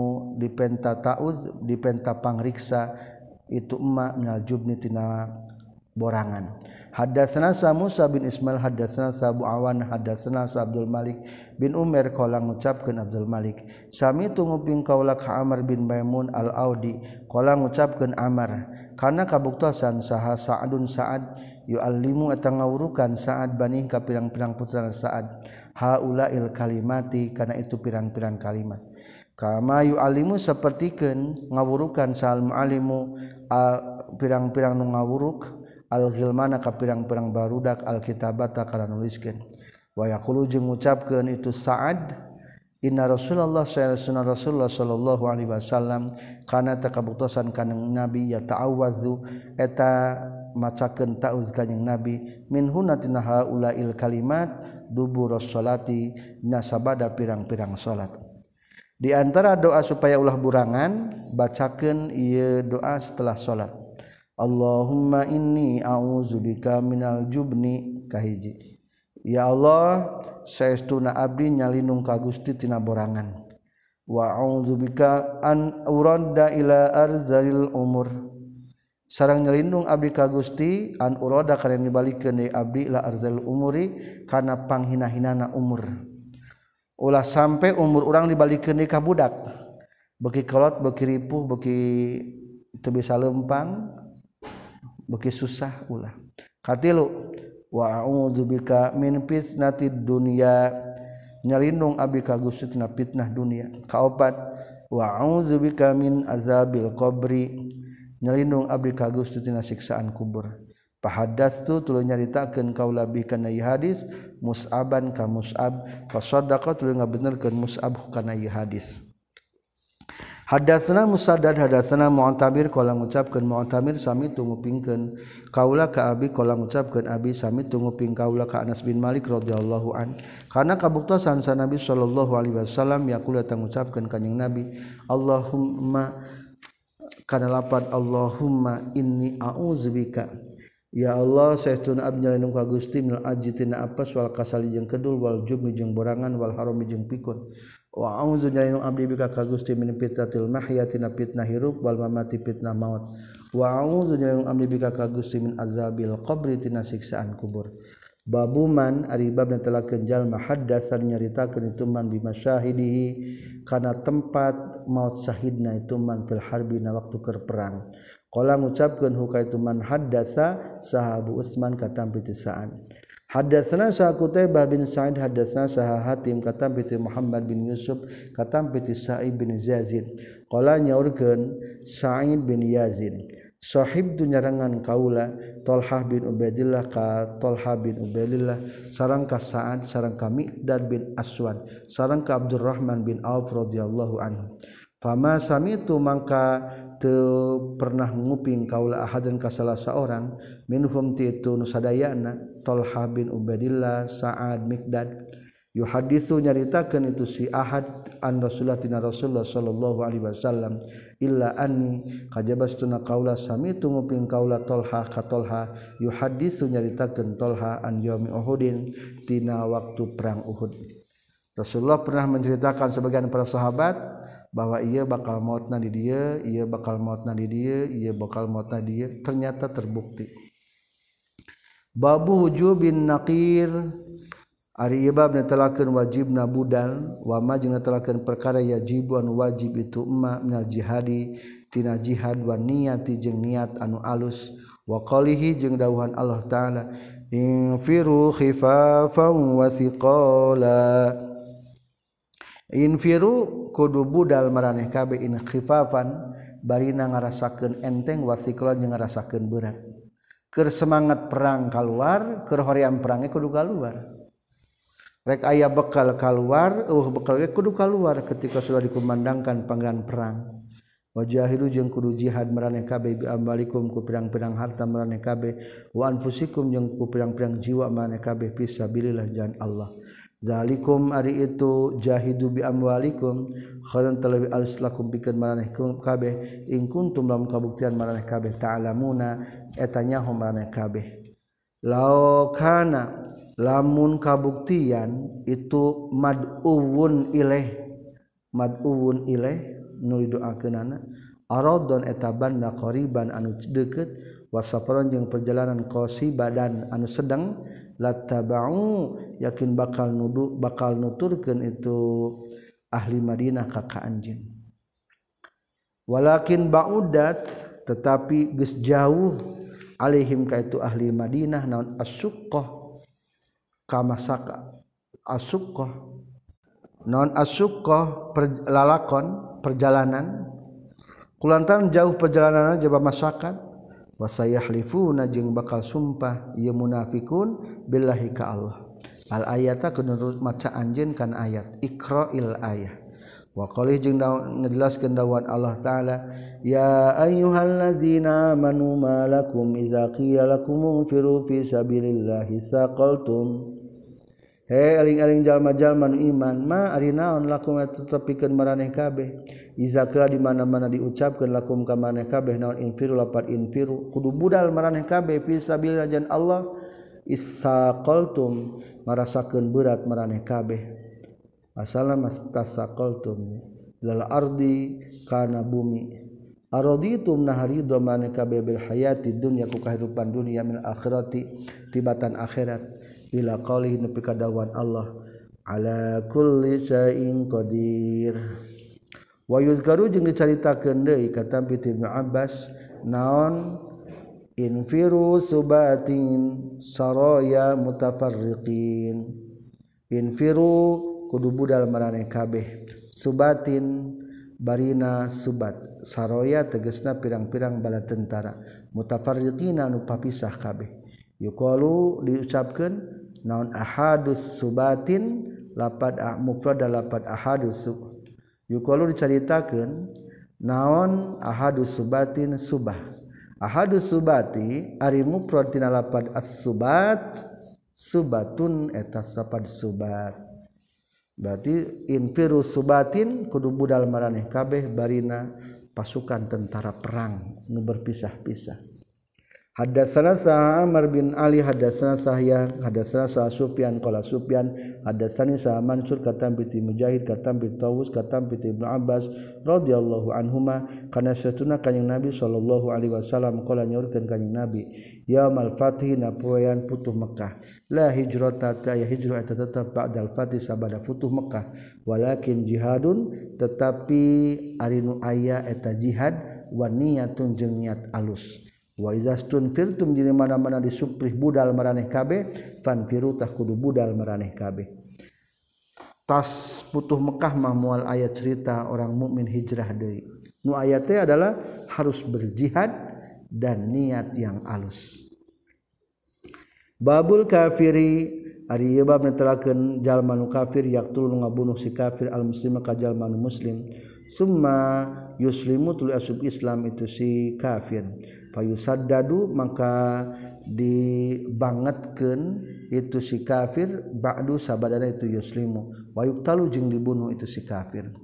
dipenta ta'uz dipenta pangriksa itu emma minal jubni tina borangan hadatsana Musa bin Ismail hadatsana Abu Awan hadatsana Abdul Malik bin Umar qala ngucapkeun Abdul Malik sami tunguping kaula ka Amr bin Maimun al-Audi qala ngucapkeun Amr kana kabuktosan saha Sa'dun Sa'ad yu'allimu eta ngawurukan Sa'ad bani ka pirang-pirang putra Sa'ad haulail kalimati kana itu pirang-pirang kalimat kama yu'allimu sapertikeun ngawurukan sal mu'allimu pirang-pirang nu ngawuruk al-ghilmana ka pirang-pirang barudak al-kitabata kana nuliskeun wa yaqulu jeung ngucapkeun itu Sa'ad inna Rasulullah sallallahu alaihi wasallam kana takabuktosan kanang nabi ya ta'awwadzu eta macakeun ta'uz kanjing nabi min hunatina haulail kalimat duburus salati nasabada pirang-pirang salat di antara doa supaya ulah burangan bacakeun ieu doa setelah salat Allahumma inni a'udzubika minal jubni kahiji ya Allah saestuna abdi nyalindung ka Gusti tina borangan wa a'udzubika an urada ila arzalil umur sareng nyalindung abdi ka Gusti an urada kana dibalikeun deui abdi ila arzalil umuri kana panghina-hinana umur ulah sampai umur urang dibalikeun deui ka budak beuki kolot beuki ripuh beuki teu bisa leumpang beuki susah ulah katilu wa a'udzubika min fitnatid dunya nyalindung abdi ka Gusti tina fitnah dunia kaopat wa a'udzubika min azabil qabri nyalindung abdi ka Gusti tina siksaan kubur pahaddatsu tuluy nyaritakeun kaula bi kana ieu hadis Mus'aban ka Mus'ab fa saddaqa tuluy ngabenerkeun Mus'ab kana ieu hadis hadatsana Musaddad hadatsana Mu'tamir qala ngucapkeun Mu'tamir sami tungupingkeun kaula ka abi qala ngucapkeun abi sami tunguping kaula ka Anas bin Malik radhiyallahu an kana kabuktosan sa Nabi sallallahu alaihi wasallam yaqulu ta ngucapkeun kanjing Nabi Allahumma kana lapad Allahumma inni a'udzubika ya Allah saestuna abdi nyalindung ka Gusti minal ajtina apes wal kasali jeung kedul wal jubni jeung borangan wal harami jeung pikun wa a'udzu nyalindung abdi bika ka Gusti min fitnatil mahya tina fitnah hirup wal mamati fitnah maut wa a'udzu nyalindung abdi bika ka Gusti min azabil qabri tina siksaan kubur babuman ari bab netelakeun jalma haddatsan nyaritakeun itu man bi masyahidihi kana tempat maut syahidna itu man fil harbi na waktu keur perang qala ngucapkeun hukaitu man haddatsa sahabu Utsman katampi tisaan hadatsana sa Qutaibah bin Sa'id hadatsana sa Hatim katampi ti Muhammad bin Yusuf katampi ti Sa'id bin Yazid qala nyaurkeun Sa'id bin Yazid sahib tu nyarangan kaula Talhah bin Ubaidillah ka Talhah bin Ubaidillah sareng ka Sa'ad sareng ka Miqdad bin Aswad sareng ka Abdurrahman bin Auf radhiyallahu anhu fama samitu mangka teu pernah nguping kaula ahadan ka salah seorang minhum ti itu nu sadayana Talhah bin Ubaidillah Sa'ad Miqdad yuhaditsu nyaritakeun itu si ahad an Rasulullah tina Rasulullah sallallahu alaihi wasallam illa anni kajabastuna qaula sami tunguping qaula Talha ka Talha yuhaditsu nyaritakeun Talha an yaumi Uhudin tina waktu perang Uhud Rasulullah pernah menceritakan sebagian para sahabat bahwa ia bakal mautna di dia, ia bakal mautna di dia, ia bakal mautna di dia, ternyata terbukti. Babu hujubin naqir ari ieu bab netelakeun wajibna budal wa ma jeung netelakeun perkara yajibu anu wajib itu emma minal jihadi tina jihad wa niyati jeung niat anu alus wa qalihi jeung dawuhan Allah taala infiru khifafan wa thiqala infiru kudu budal maraneh kabeh in khifafan barina ngarasakeun enteng wa thiqala jeung ngarasakeun berat keur semangat perang keluar keur hoream perangnya kudu keluar rek aya bekal keluar bekal ge kudu keluar ketika sudah dikumandangkan panggilan perang wajahidu jeung kudu jihad maraneh kabeh bi ambalikum ku pirang-pirang harta maraneh kabeh wa anfusikum jeung ku pirang-pirang jiwa maraneh kabeh fisabilillah jalan Allah zalikum ari itu jahidu bi amwalikum khairan talabi alislakum pikeun maraneh kabeh in kuntum lam kabuktian maraneh kabeh ta'lamuna eta nyaho maraneh kabeh laukana lamun kabuktian itu mad'uwun ilaih nu didoakeunana aradon eta banda qariban anu deukeut wasafaron jeung perjalanan qasibadan anu sedang latabau yakin bakal nuturkeun itu ahli Madinah ka anjeun walakin ba'udat tetapi geus jauh alaihim ka itu ahli Madinah naon asyuqqah kamasaka asuqqah non asuqqah lalakon perjalanan kulantaran jauh perjalanan jaba masyarakat wasayahlifuna jeung bakal sumpah ieu munafikun billahi ka Allah al ayata kunurut maca anjeun kan ayat iqra'il ayah wa qalih jeung ngajelaskeun dawuhan Allah taala ya ayyuhallazina amanu malakum idza qila lakum unfiru fi sabilillahi saqaltum he aling-aling jalma-jalma nu iman ma ari naon lakum tetepikeun maraneh kabeh iza qila di mana-mana diucapkeun lakum ka maraneh kabeh naon infiru lapat infiru kudu budal maraneh kabeh fi sabilillah jan Allah isaqaltum marasakeun berat maraneh kabeh asalna mastasaqaltum lal ardi kana bumi araditum naharidu maraneh kabeh bil hayati dunya ku kahidupan dunia min akhirati tibatan akhirat ila qalihi nepi ka dawuhan Allah ala kulli syai'in qadir wa yuzkaru jeung dicaritakeun deui ka Tambit Ibnu Abbas naon infiru subatin saraya mutafarriqin infiru kudu budal maraneh kabeh subatin barina subat saraya tegasna pirang-pirang bala tentara mutafarriqina anu papisah kabeh yuqalu diucapkeun naon ahadus subatin lapad mufrad lapad ahadus yuqalu dicaritakeun naon ahadus subatin subah ahadus subati ari mufrad tina lapad as-subat subatun eta sapad subat berarti infiru subatin kudu budal maraneh kabeh barina pasukan tentara perang nu berpisah-pisah. Hadatsana Amr bin Ali hadatsana Sahyan hadatsana Sufyan qala Sufyan hadatsani Mansur katam bi Mujahid katam bi Tawus katam bi Ibnu Abbas radhiyallahu anhuma kana satuna kanjing Nabi sallallahu alaihi wasallam qala nyaurkeun kanjing Nabi yaumul fathi na poean putuh Mekah la hijrata ta ya hijrah eta tetep ba'dal fathi sabada futuh Mekah walakin jihadun tetapi ari nu aya eta jihad wa niyatun jeung niat alus wa izastun firtum jadi mana-mana disuprih budal maraneh kabeh fanfiru tah kudu budal maraneh kabeh tas putuh Mekah mah moal aya cerita orang mukmin hijrah deui nu aya teh adalah harus berjihad dan niat yang alus babul kafiri ari ieu bab netelakeun jalma nu kafir yaqtul ngabunuh si kafir al muslima ka jalma nu muslim summa yuslimu tul asub Islam itu si kafir fayusaddadu maka dibangetkeun itu si kafir ba'du sabadana itu yuslimu wa yuqtalu jeung dibunuh itu si kafir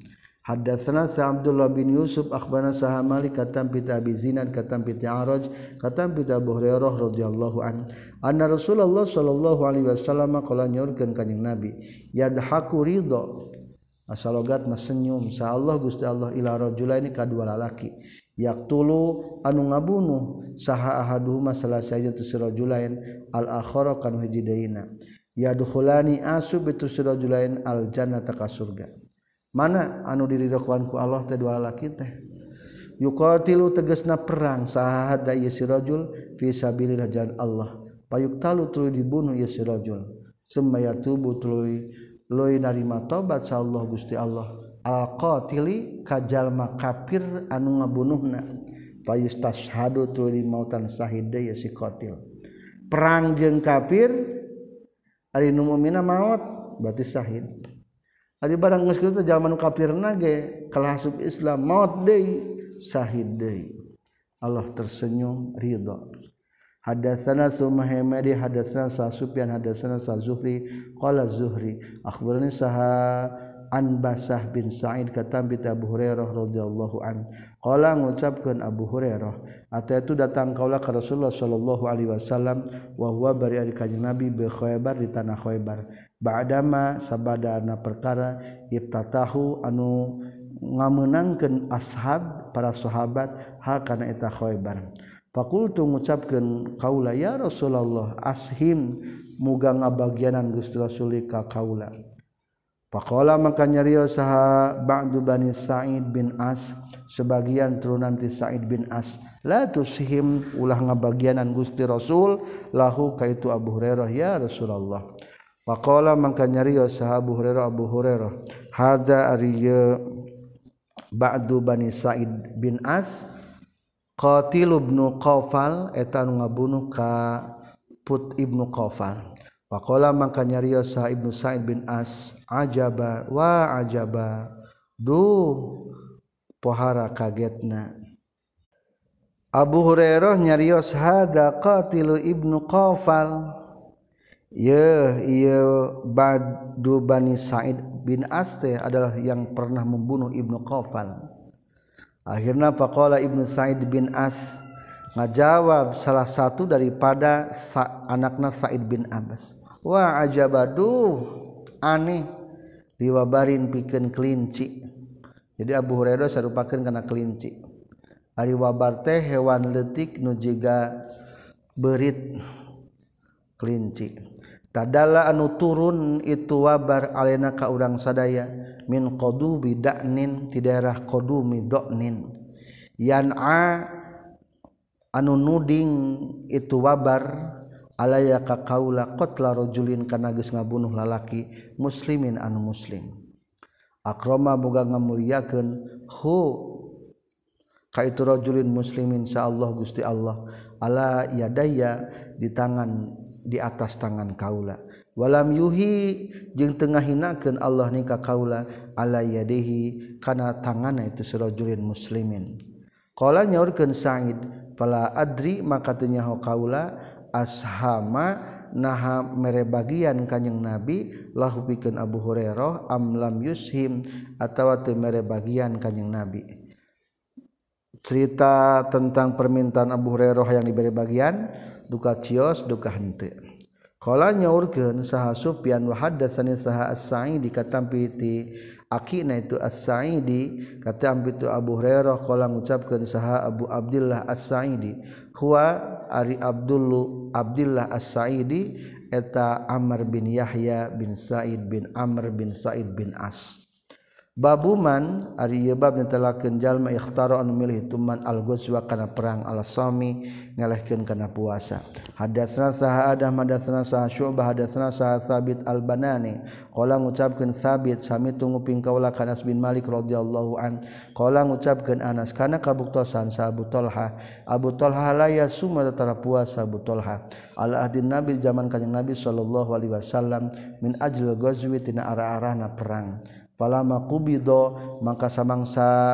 Hadatsana sa Abdullah bin Yusuf akhbarana sa Malik katam pit Abi Zinad katam pit Araj katam pit Abu Hurairah radhiyallahu anna Rasulullah sallallahu alaihi wasallam qala nyorkeun kanjing Nabi yadhaku ridha asalogat mas senyum sa Allah Gusti Allah ila rajulaini ka dua lalaki yaqtulu anu ngabunuh saha ahaduhuma salah sajatu rajulain al akhara kan hiji deuna yadkhulani asub itu rajulain al jannata ka surga. Mana anu diridhoan ku Allah teh dua lalaki teh yuqatilu tegasna perang saha hada ieu si rajul fi sabilillah jalan Allah payuktalu tuluy dibunuh ieu si rajul summa yatubu tuluy narima tobat sa Allah Gusti Allah al-qatili ka jalma kafir anu ngabunuhna fayustashhadu tuluy mautan syahid ieu si qatil perang jeung kafir ari nu mukminna maot berarti syahid. Ari barang geus kitu jalma nu kafirna ge kalahasup Islam maut deui syahid deui. Allah tersenyum ridha. Hadatsana Sumaihmadi hadatsana Sufyan hadatsana Zuhri qala Zuhri akhbarani saha an Basah bin Sa'id katam bi Abu Hurairah radhiyallahu an qala ngucapkeun Abu Hurairah ataitu datang kaula ka Rasulullah sallallahu alaihi wasallam wa huwa bari ari kanjing Nabi bi Khaybar di tanah Khaybar ba'dama sabadana perkara iftatahu anu ngameunangkeun ashab para sahabat ha kana eta Khaybar faqultu ngucapkeun kaula ya Rasulullah ashim muga ngabagianan Gusti Rasul ka kaula faqala maka nyarios saha ba'du bani Sa'id bin As sebagian turunan ti Sa'id bin As la tushim ulah ngabagianan Gusti Rasul lahu kaitu Abu Hurairah ya Rasulullah faqala maka nyarios saha Abu Hurairah hadza ariya ba'du bani Sa'id bin As qatil ibnu Qafal eta nu ngabunuh ka put ibnu Qafal faqala maka nyarios saha Ibnu Sa'id bin As ajaba wa ajaba duh pohara kagetna Abu Hurairah nyarios hada qatilu ibnu Qafal ieu ba'du bani Sa'id bin As adalah yang pernah membunuh ibnu Qafal. Akhirnya faqala Ibnu Sa'id bin As ngajawab salah satu daripada anakna Sa'id bin Abbas wa ajabadu aneh diwabarin pikeun kelinci. Jadi Abu Hurairah sarupakeun kana kelinci. Ari wabar teh hewan leutik nu jiga beurit kelinci. Tadalla anu turun itu wabar alena ka urang sadaya min qadubi da'nin ti daerah qadumi da'nin yan'a anu nuding itu wabar alaya ka kaula qatla rajulin kana geus ngabunuh lalaki muslimin anu muslim akrama boga ngamulyakeun hu ka itu rajulin muslimin insyaallah Gusti Allah ala yadaya di atas tangan kaula walam yuhi jeung teu ngahinakeun Allah ni ka kaula ala yadihi kana tanganna itu rajulin muslimin qala nyaurkeun Sa'id fala adri maka teu nyaho kaula ashama naha mere bagian kanjing Nabi lahu pikeun Abu Hurairah am lam yushim atawa teu mere bagian kanjing Nabi. Cerita tentang permintaan Abu Hurairah yang diberi bagian duka cios duka henteu. Qala nyaurkeun saha Sufyan wa hadatsani saha As-Sa'idi katampi ti akina itu As-Sa'idi katampi itu Abu Hurairah qala ngucapkeun saha Abu Abdullah As-Sa'idi huwa ari Abdullah As-Sa'idi eta Amr bin Yahya bin Sa'id bin Amr bin Sa'id bin As. Babuman ari ieu bab netelakeun jalma ikhtara anu milih tuman al-ghazwa kana perang al-sami ngalehkeun kana puasa. Hadatsana saha Adam hadatsana saha Syu'bah hadatsana saha Tsabit al-Banani qala ngucapkeun Tsabit sami tunguping kaula ka Anas bin Malik radhiyallahu an qala ngucapkeun Anas kana kabuktosan sa Abu Talha la yasuma tatara puasa Abu Talha ala ahdin Nabi zaman kanjeng Nabi sallallahu alaihi wasallam min ajli ghazwi tina ara-arana perang. Palama qubido maka samangsa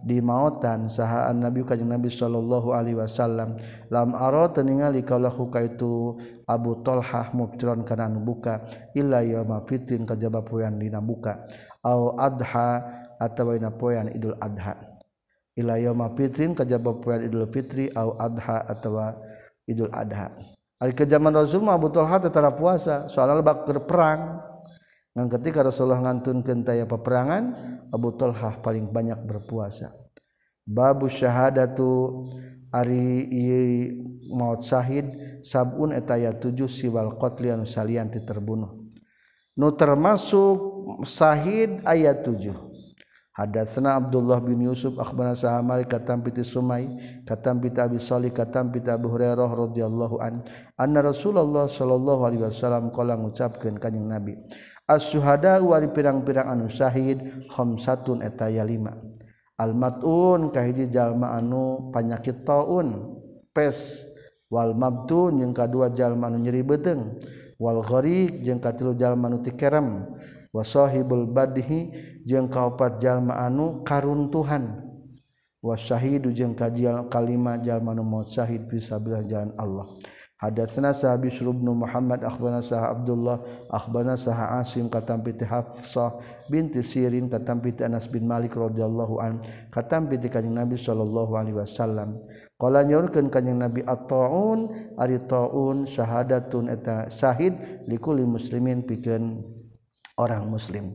di mautan sahaan Nabi kanjeng Nabi sallallahu alaihi wasallam lam ara ningali kaulahu kaitu Abu Talhah muftiron kana anu buka illa yauma fitrin kajaba poean dina buka au adha atawa dina poean Idul Adha illa yauma fitrin kajaba poean Idul Fitri au adha atawa Idul Adha ari ke zaman Rasul mah Abu Talhah teu tara puasa soalna bakeur perang ngan ketika Rasulullah ngantunkeun taya peperangan Abu Talhah paling banyak berpuasa. Babu syahadatu ari maut syahid sabun eta aya 7 siwal qatli anu salian ti terbunuh. Nu termasuk syahid aya 7. Hadatsana Abdullah bin Yusuf akhbarana Sa'amari katam piti Sumai katam piti Abi Shalih katam piti Abu Hurairah radhiyallahu anna Rasulullah sallallahu alaihi wasallam qala ngucapkeun kanjing Nabi as-syuhada wari pirang-pirang anu syahid khamsatun eta aya 5 al-mat'un kahiji jalma anu panyakit taun pes wal mabtun jeung kadua jalma anu nyeri beuteung wal gharik jeung katilu jalma anu tikerem wa sahibul badhi jeung kaopat jalma anu karuntuhan wa syahidu jeung kalima jalma anu maut syahid fi sabilillah jalan Allah. Hadatsana Sahabi Bishr bin Muhammad akhbarana Sah Abdullah akhbarana Sah Asim katam piti Hafsah binti Sirin katam piti Anas bin Malik radhiyallahu an katam piti kanjing Nabi sallallahu alaihi wasallam qala nyorkeun kanjing Nabi at-taun ari taun syahadatun eta syahid likulli muslimin pikeun orang muslim.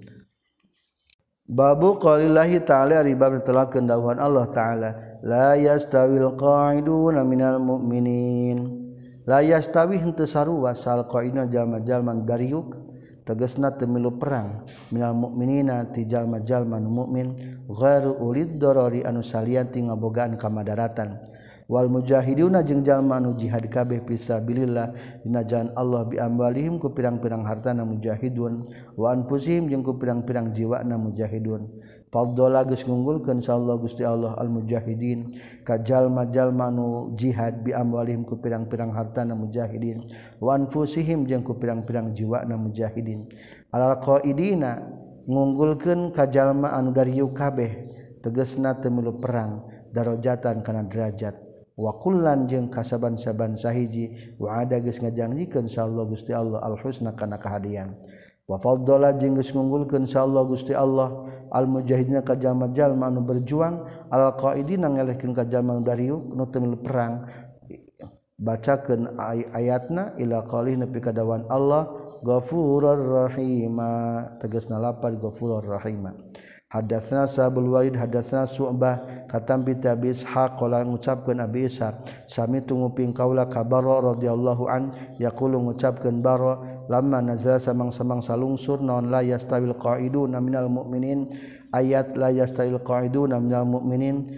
Babu qaulillahi ta'ala ribab telakeun dawuhan Allah taala la yastawil qa'iduna minal mu'minin la yastawi henteu sarua sal qaina jalma-jalma dariuk tegasna teu milu perang minal mukminina ti jalma-jalma mukmin ghairu ulid darari anu salian ti ngabogaan kamadaratan wal mujahiduna jeung jalma anu jihad kabeh fisabilillah dina jalan Allah bi amwalihim ku pirang-pirang hartana mujahidun wa anfusihim jeung ku pirang-pirang jiwana mujahidun fadhala geus ngunggulkeun insyaallah Gusti Allah al mujahidin ka jalma-jalma anu jihad bi amwalihim ku pirang-pirang hartana mujahidin wa anfusihim jeung ku pirang-pirang jiwana mujahidin alal qaidina ngunggulkeun ka jalma anu darieu kabeh tegasna teu milu perang darajatan kana derajat wa kullan jeung kasaban-saban sahiji wa ada geus ngajangjikeun insyaallah Gusti Allah al husna kana kahadian wa faddala jeung geus ngunggulkeun insyaallah Gusti Allah al mujahidina ka jalma-jalma anu berjuang al qaidina ngelehkeun ka jalma anu dariuk nu teu milu perang bacakeun ayatna ila qalih nepi ka dawan Allah ghafurur rahima tegasna lapad ghafurur rahima. Hadatsana Sabul Walid hadatsana Su'bah katam bi Abi Ishaq qala ngucapkeun Abi Ishaq sami tunguping kaula ka Bara radhiyallahu an yaqulu ngucapkeun Bara lamma nazala samang-samang salungsur naon la yastawil qa'iduna minal mu'minin ayat la yastawil qa'iduna minal mu'minin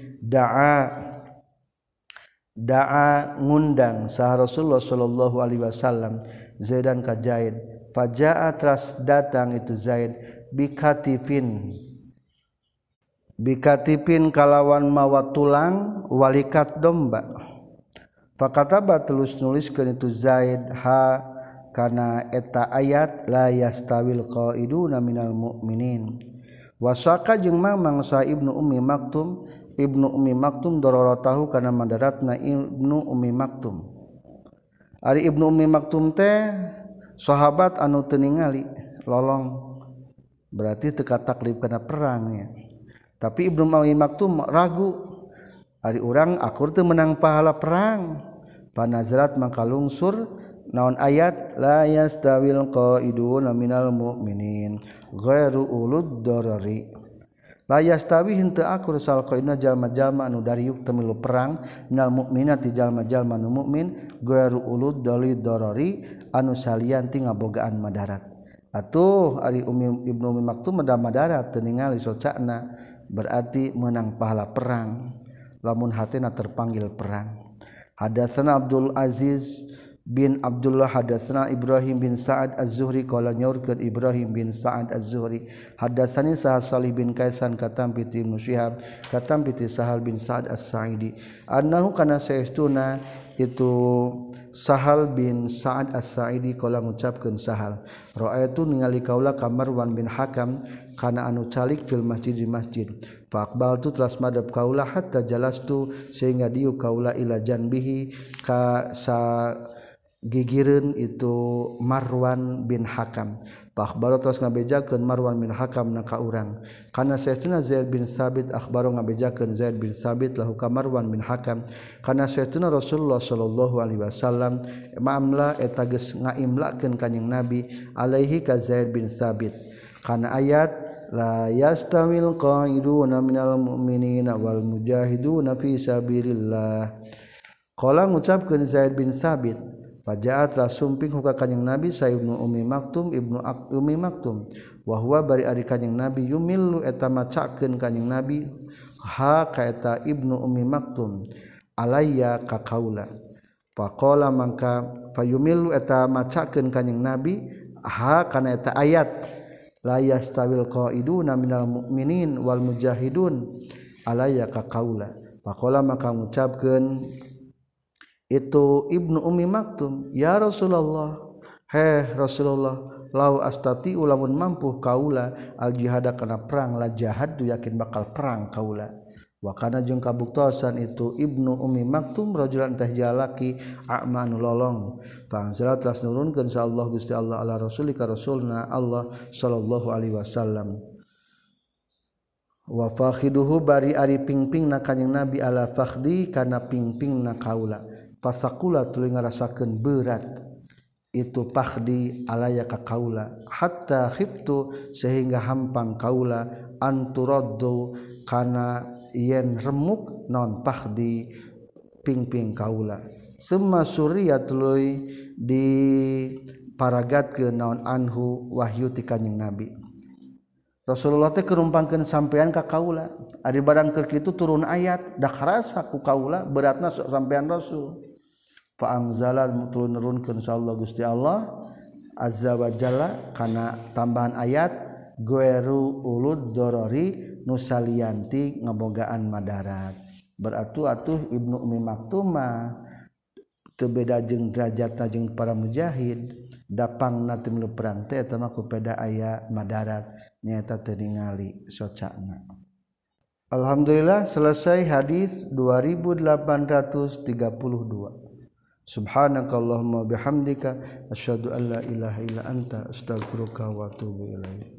da'a ngundang sah Rasulullah sallallahu alaihi wasallam Zaidan ka Zaid fajaa tras datang itu Zaid bikatipin kalawan mawa tulang walikat domba fakataba tulus nuliskeun itu Zaid ha kana eta ayat la yastawil qaiduna minal mu'minin wasaka jeung mamang sa Ibnu Ummi Maktum dororotahu kana mandaratna Ibnu Ummi Maktum ari Ibnu Ummi Maktum teh sahabat anu teu ningali lolong berarti teu kataklif kana perangnya. Tapi Ibnu Ummi Maktum ragu ari urang akur teu menang pahala perang panazrat mangka lungsur naon ayat la yastawil qaiduna minal mu'minin ghairu ulud darari la yastawi henteu akur sal qaiduna jalma-jalma anu dariuk teu milu perang minal mu'minati jalma-jalma anu mukmin ghairu ulud darari anu salian ti ngabogaan madarat atuh ari Ibnu Ummi Maktum madarat teu ningali socana berarti menang pahala perang lamun hatena terpanggil perang. Hadatsana Abdul Aziz bin Abdullah hadatsana Ibrahim bin Sa'ad Az-Zuhri qala nyaurkeun Ibrahim bin Sa'ad Az-Zuhri hadatsani Sahal Salih bin Kaisan katam piti Ibnu Syihab katam piti Sahal bin Sa'ad As-Sa'idi annahu kana saestuna itu Sahal bin Sa'ad As-Sa'idi qala ngucapkeun Sahal ra'aitu ningali kaula ka Marwan bin Hakam kana anu calik fil masjid di masjid fa aqbaltu teras madep kaula hatta jalastu sehingga diu kaula ila janbihi ka sa gigireun itu Marwan bin Hakam fa akhbaro teras ngabejakeun Marwan bin Hakam na ka urang kana saestuna Zaid bin Sabit akhbaro ngabejakeun Zaid bin Sabit lahu ka Marwan bin Hakam kana saestuna Rasulullah sallallahu alaihi wasallam ma'amla eta geus ngaimlakeun kanjing Nabi alaihi ka Zaid bin Sabit kana ayat la yastawil qa'iduna minal mu'minina wal mujahiduna fi sabilillah qala ngucapkeun Zaid bin Sabit Pajaat rasumping huka kanjing Nabi sa Ibnu Ummi Maktum Ibnu Ummi Maktum wa huwa bari ari kanjing Nabi yumillu eta macakeun kanjing Nabi ha ka eta Ibnu Ummi Maktum alayya ka kaula faqala mangka fayumillu eta macakeun kanjing Nabi ha kana eta ayat la yastawil qaiduna minal mu'minin wal mujahidun alayya ka kaula faqala maka ngucapkeun itu Ibnu Ummi Maktum ya Rasulullah Rasulullah lau astati ulamun mampu kaula al jihada kana perang la jahad yakin bakal perang kaula wa kana jeung kabuktosan itu Ibnu Ummi Maktum rajulan teh jalaki a'manu lolong fa anzala teras nurunkeun sa Allah Gusti Allah ala rasulika rasulna Allah sallallahu alaihi wasallam wa fakhiduhu bari ari pingpingna kanjing Nabi ala fakhdi kana pingpingna kaula pasakula tuluy ngarasakeun berat itu pakhdi alaya ka kaula hatta khiftu sehingga hampang kaula anturaddu kana yen remuk non pakhdi pingping kaula summa surya tuluy di paragatkeun naon anhu wahyu ti kanjing Nabi Rasulullah teh kerumpangkeun sampean ka kaula ari barang keur kitu turun ayat dak harasa ku kaula beratna sampean Rasul fa anzala nurunkeun insyaallah Gusti Allah azza wa jalla kana tambahan ayat gueru ulud dorori nusalianti ngabogaan madarat beratu atuh Ibnu Ummi Maktum teu beda jeung derajatna jeung para mujahid dapangna teu milu perang teh eta mah kupeda aya madarat nyaeta teu ningali socana. Alhamdulillah selesai hadis 2832. Subhanakallahumma bihamdika asyhadu an la ilaha illa anta astaghfiruka wa atubu ilaik.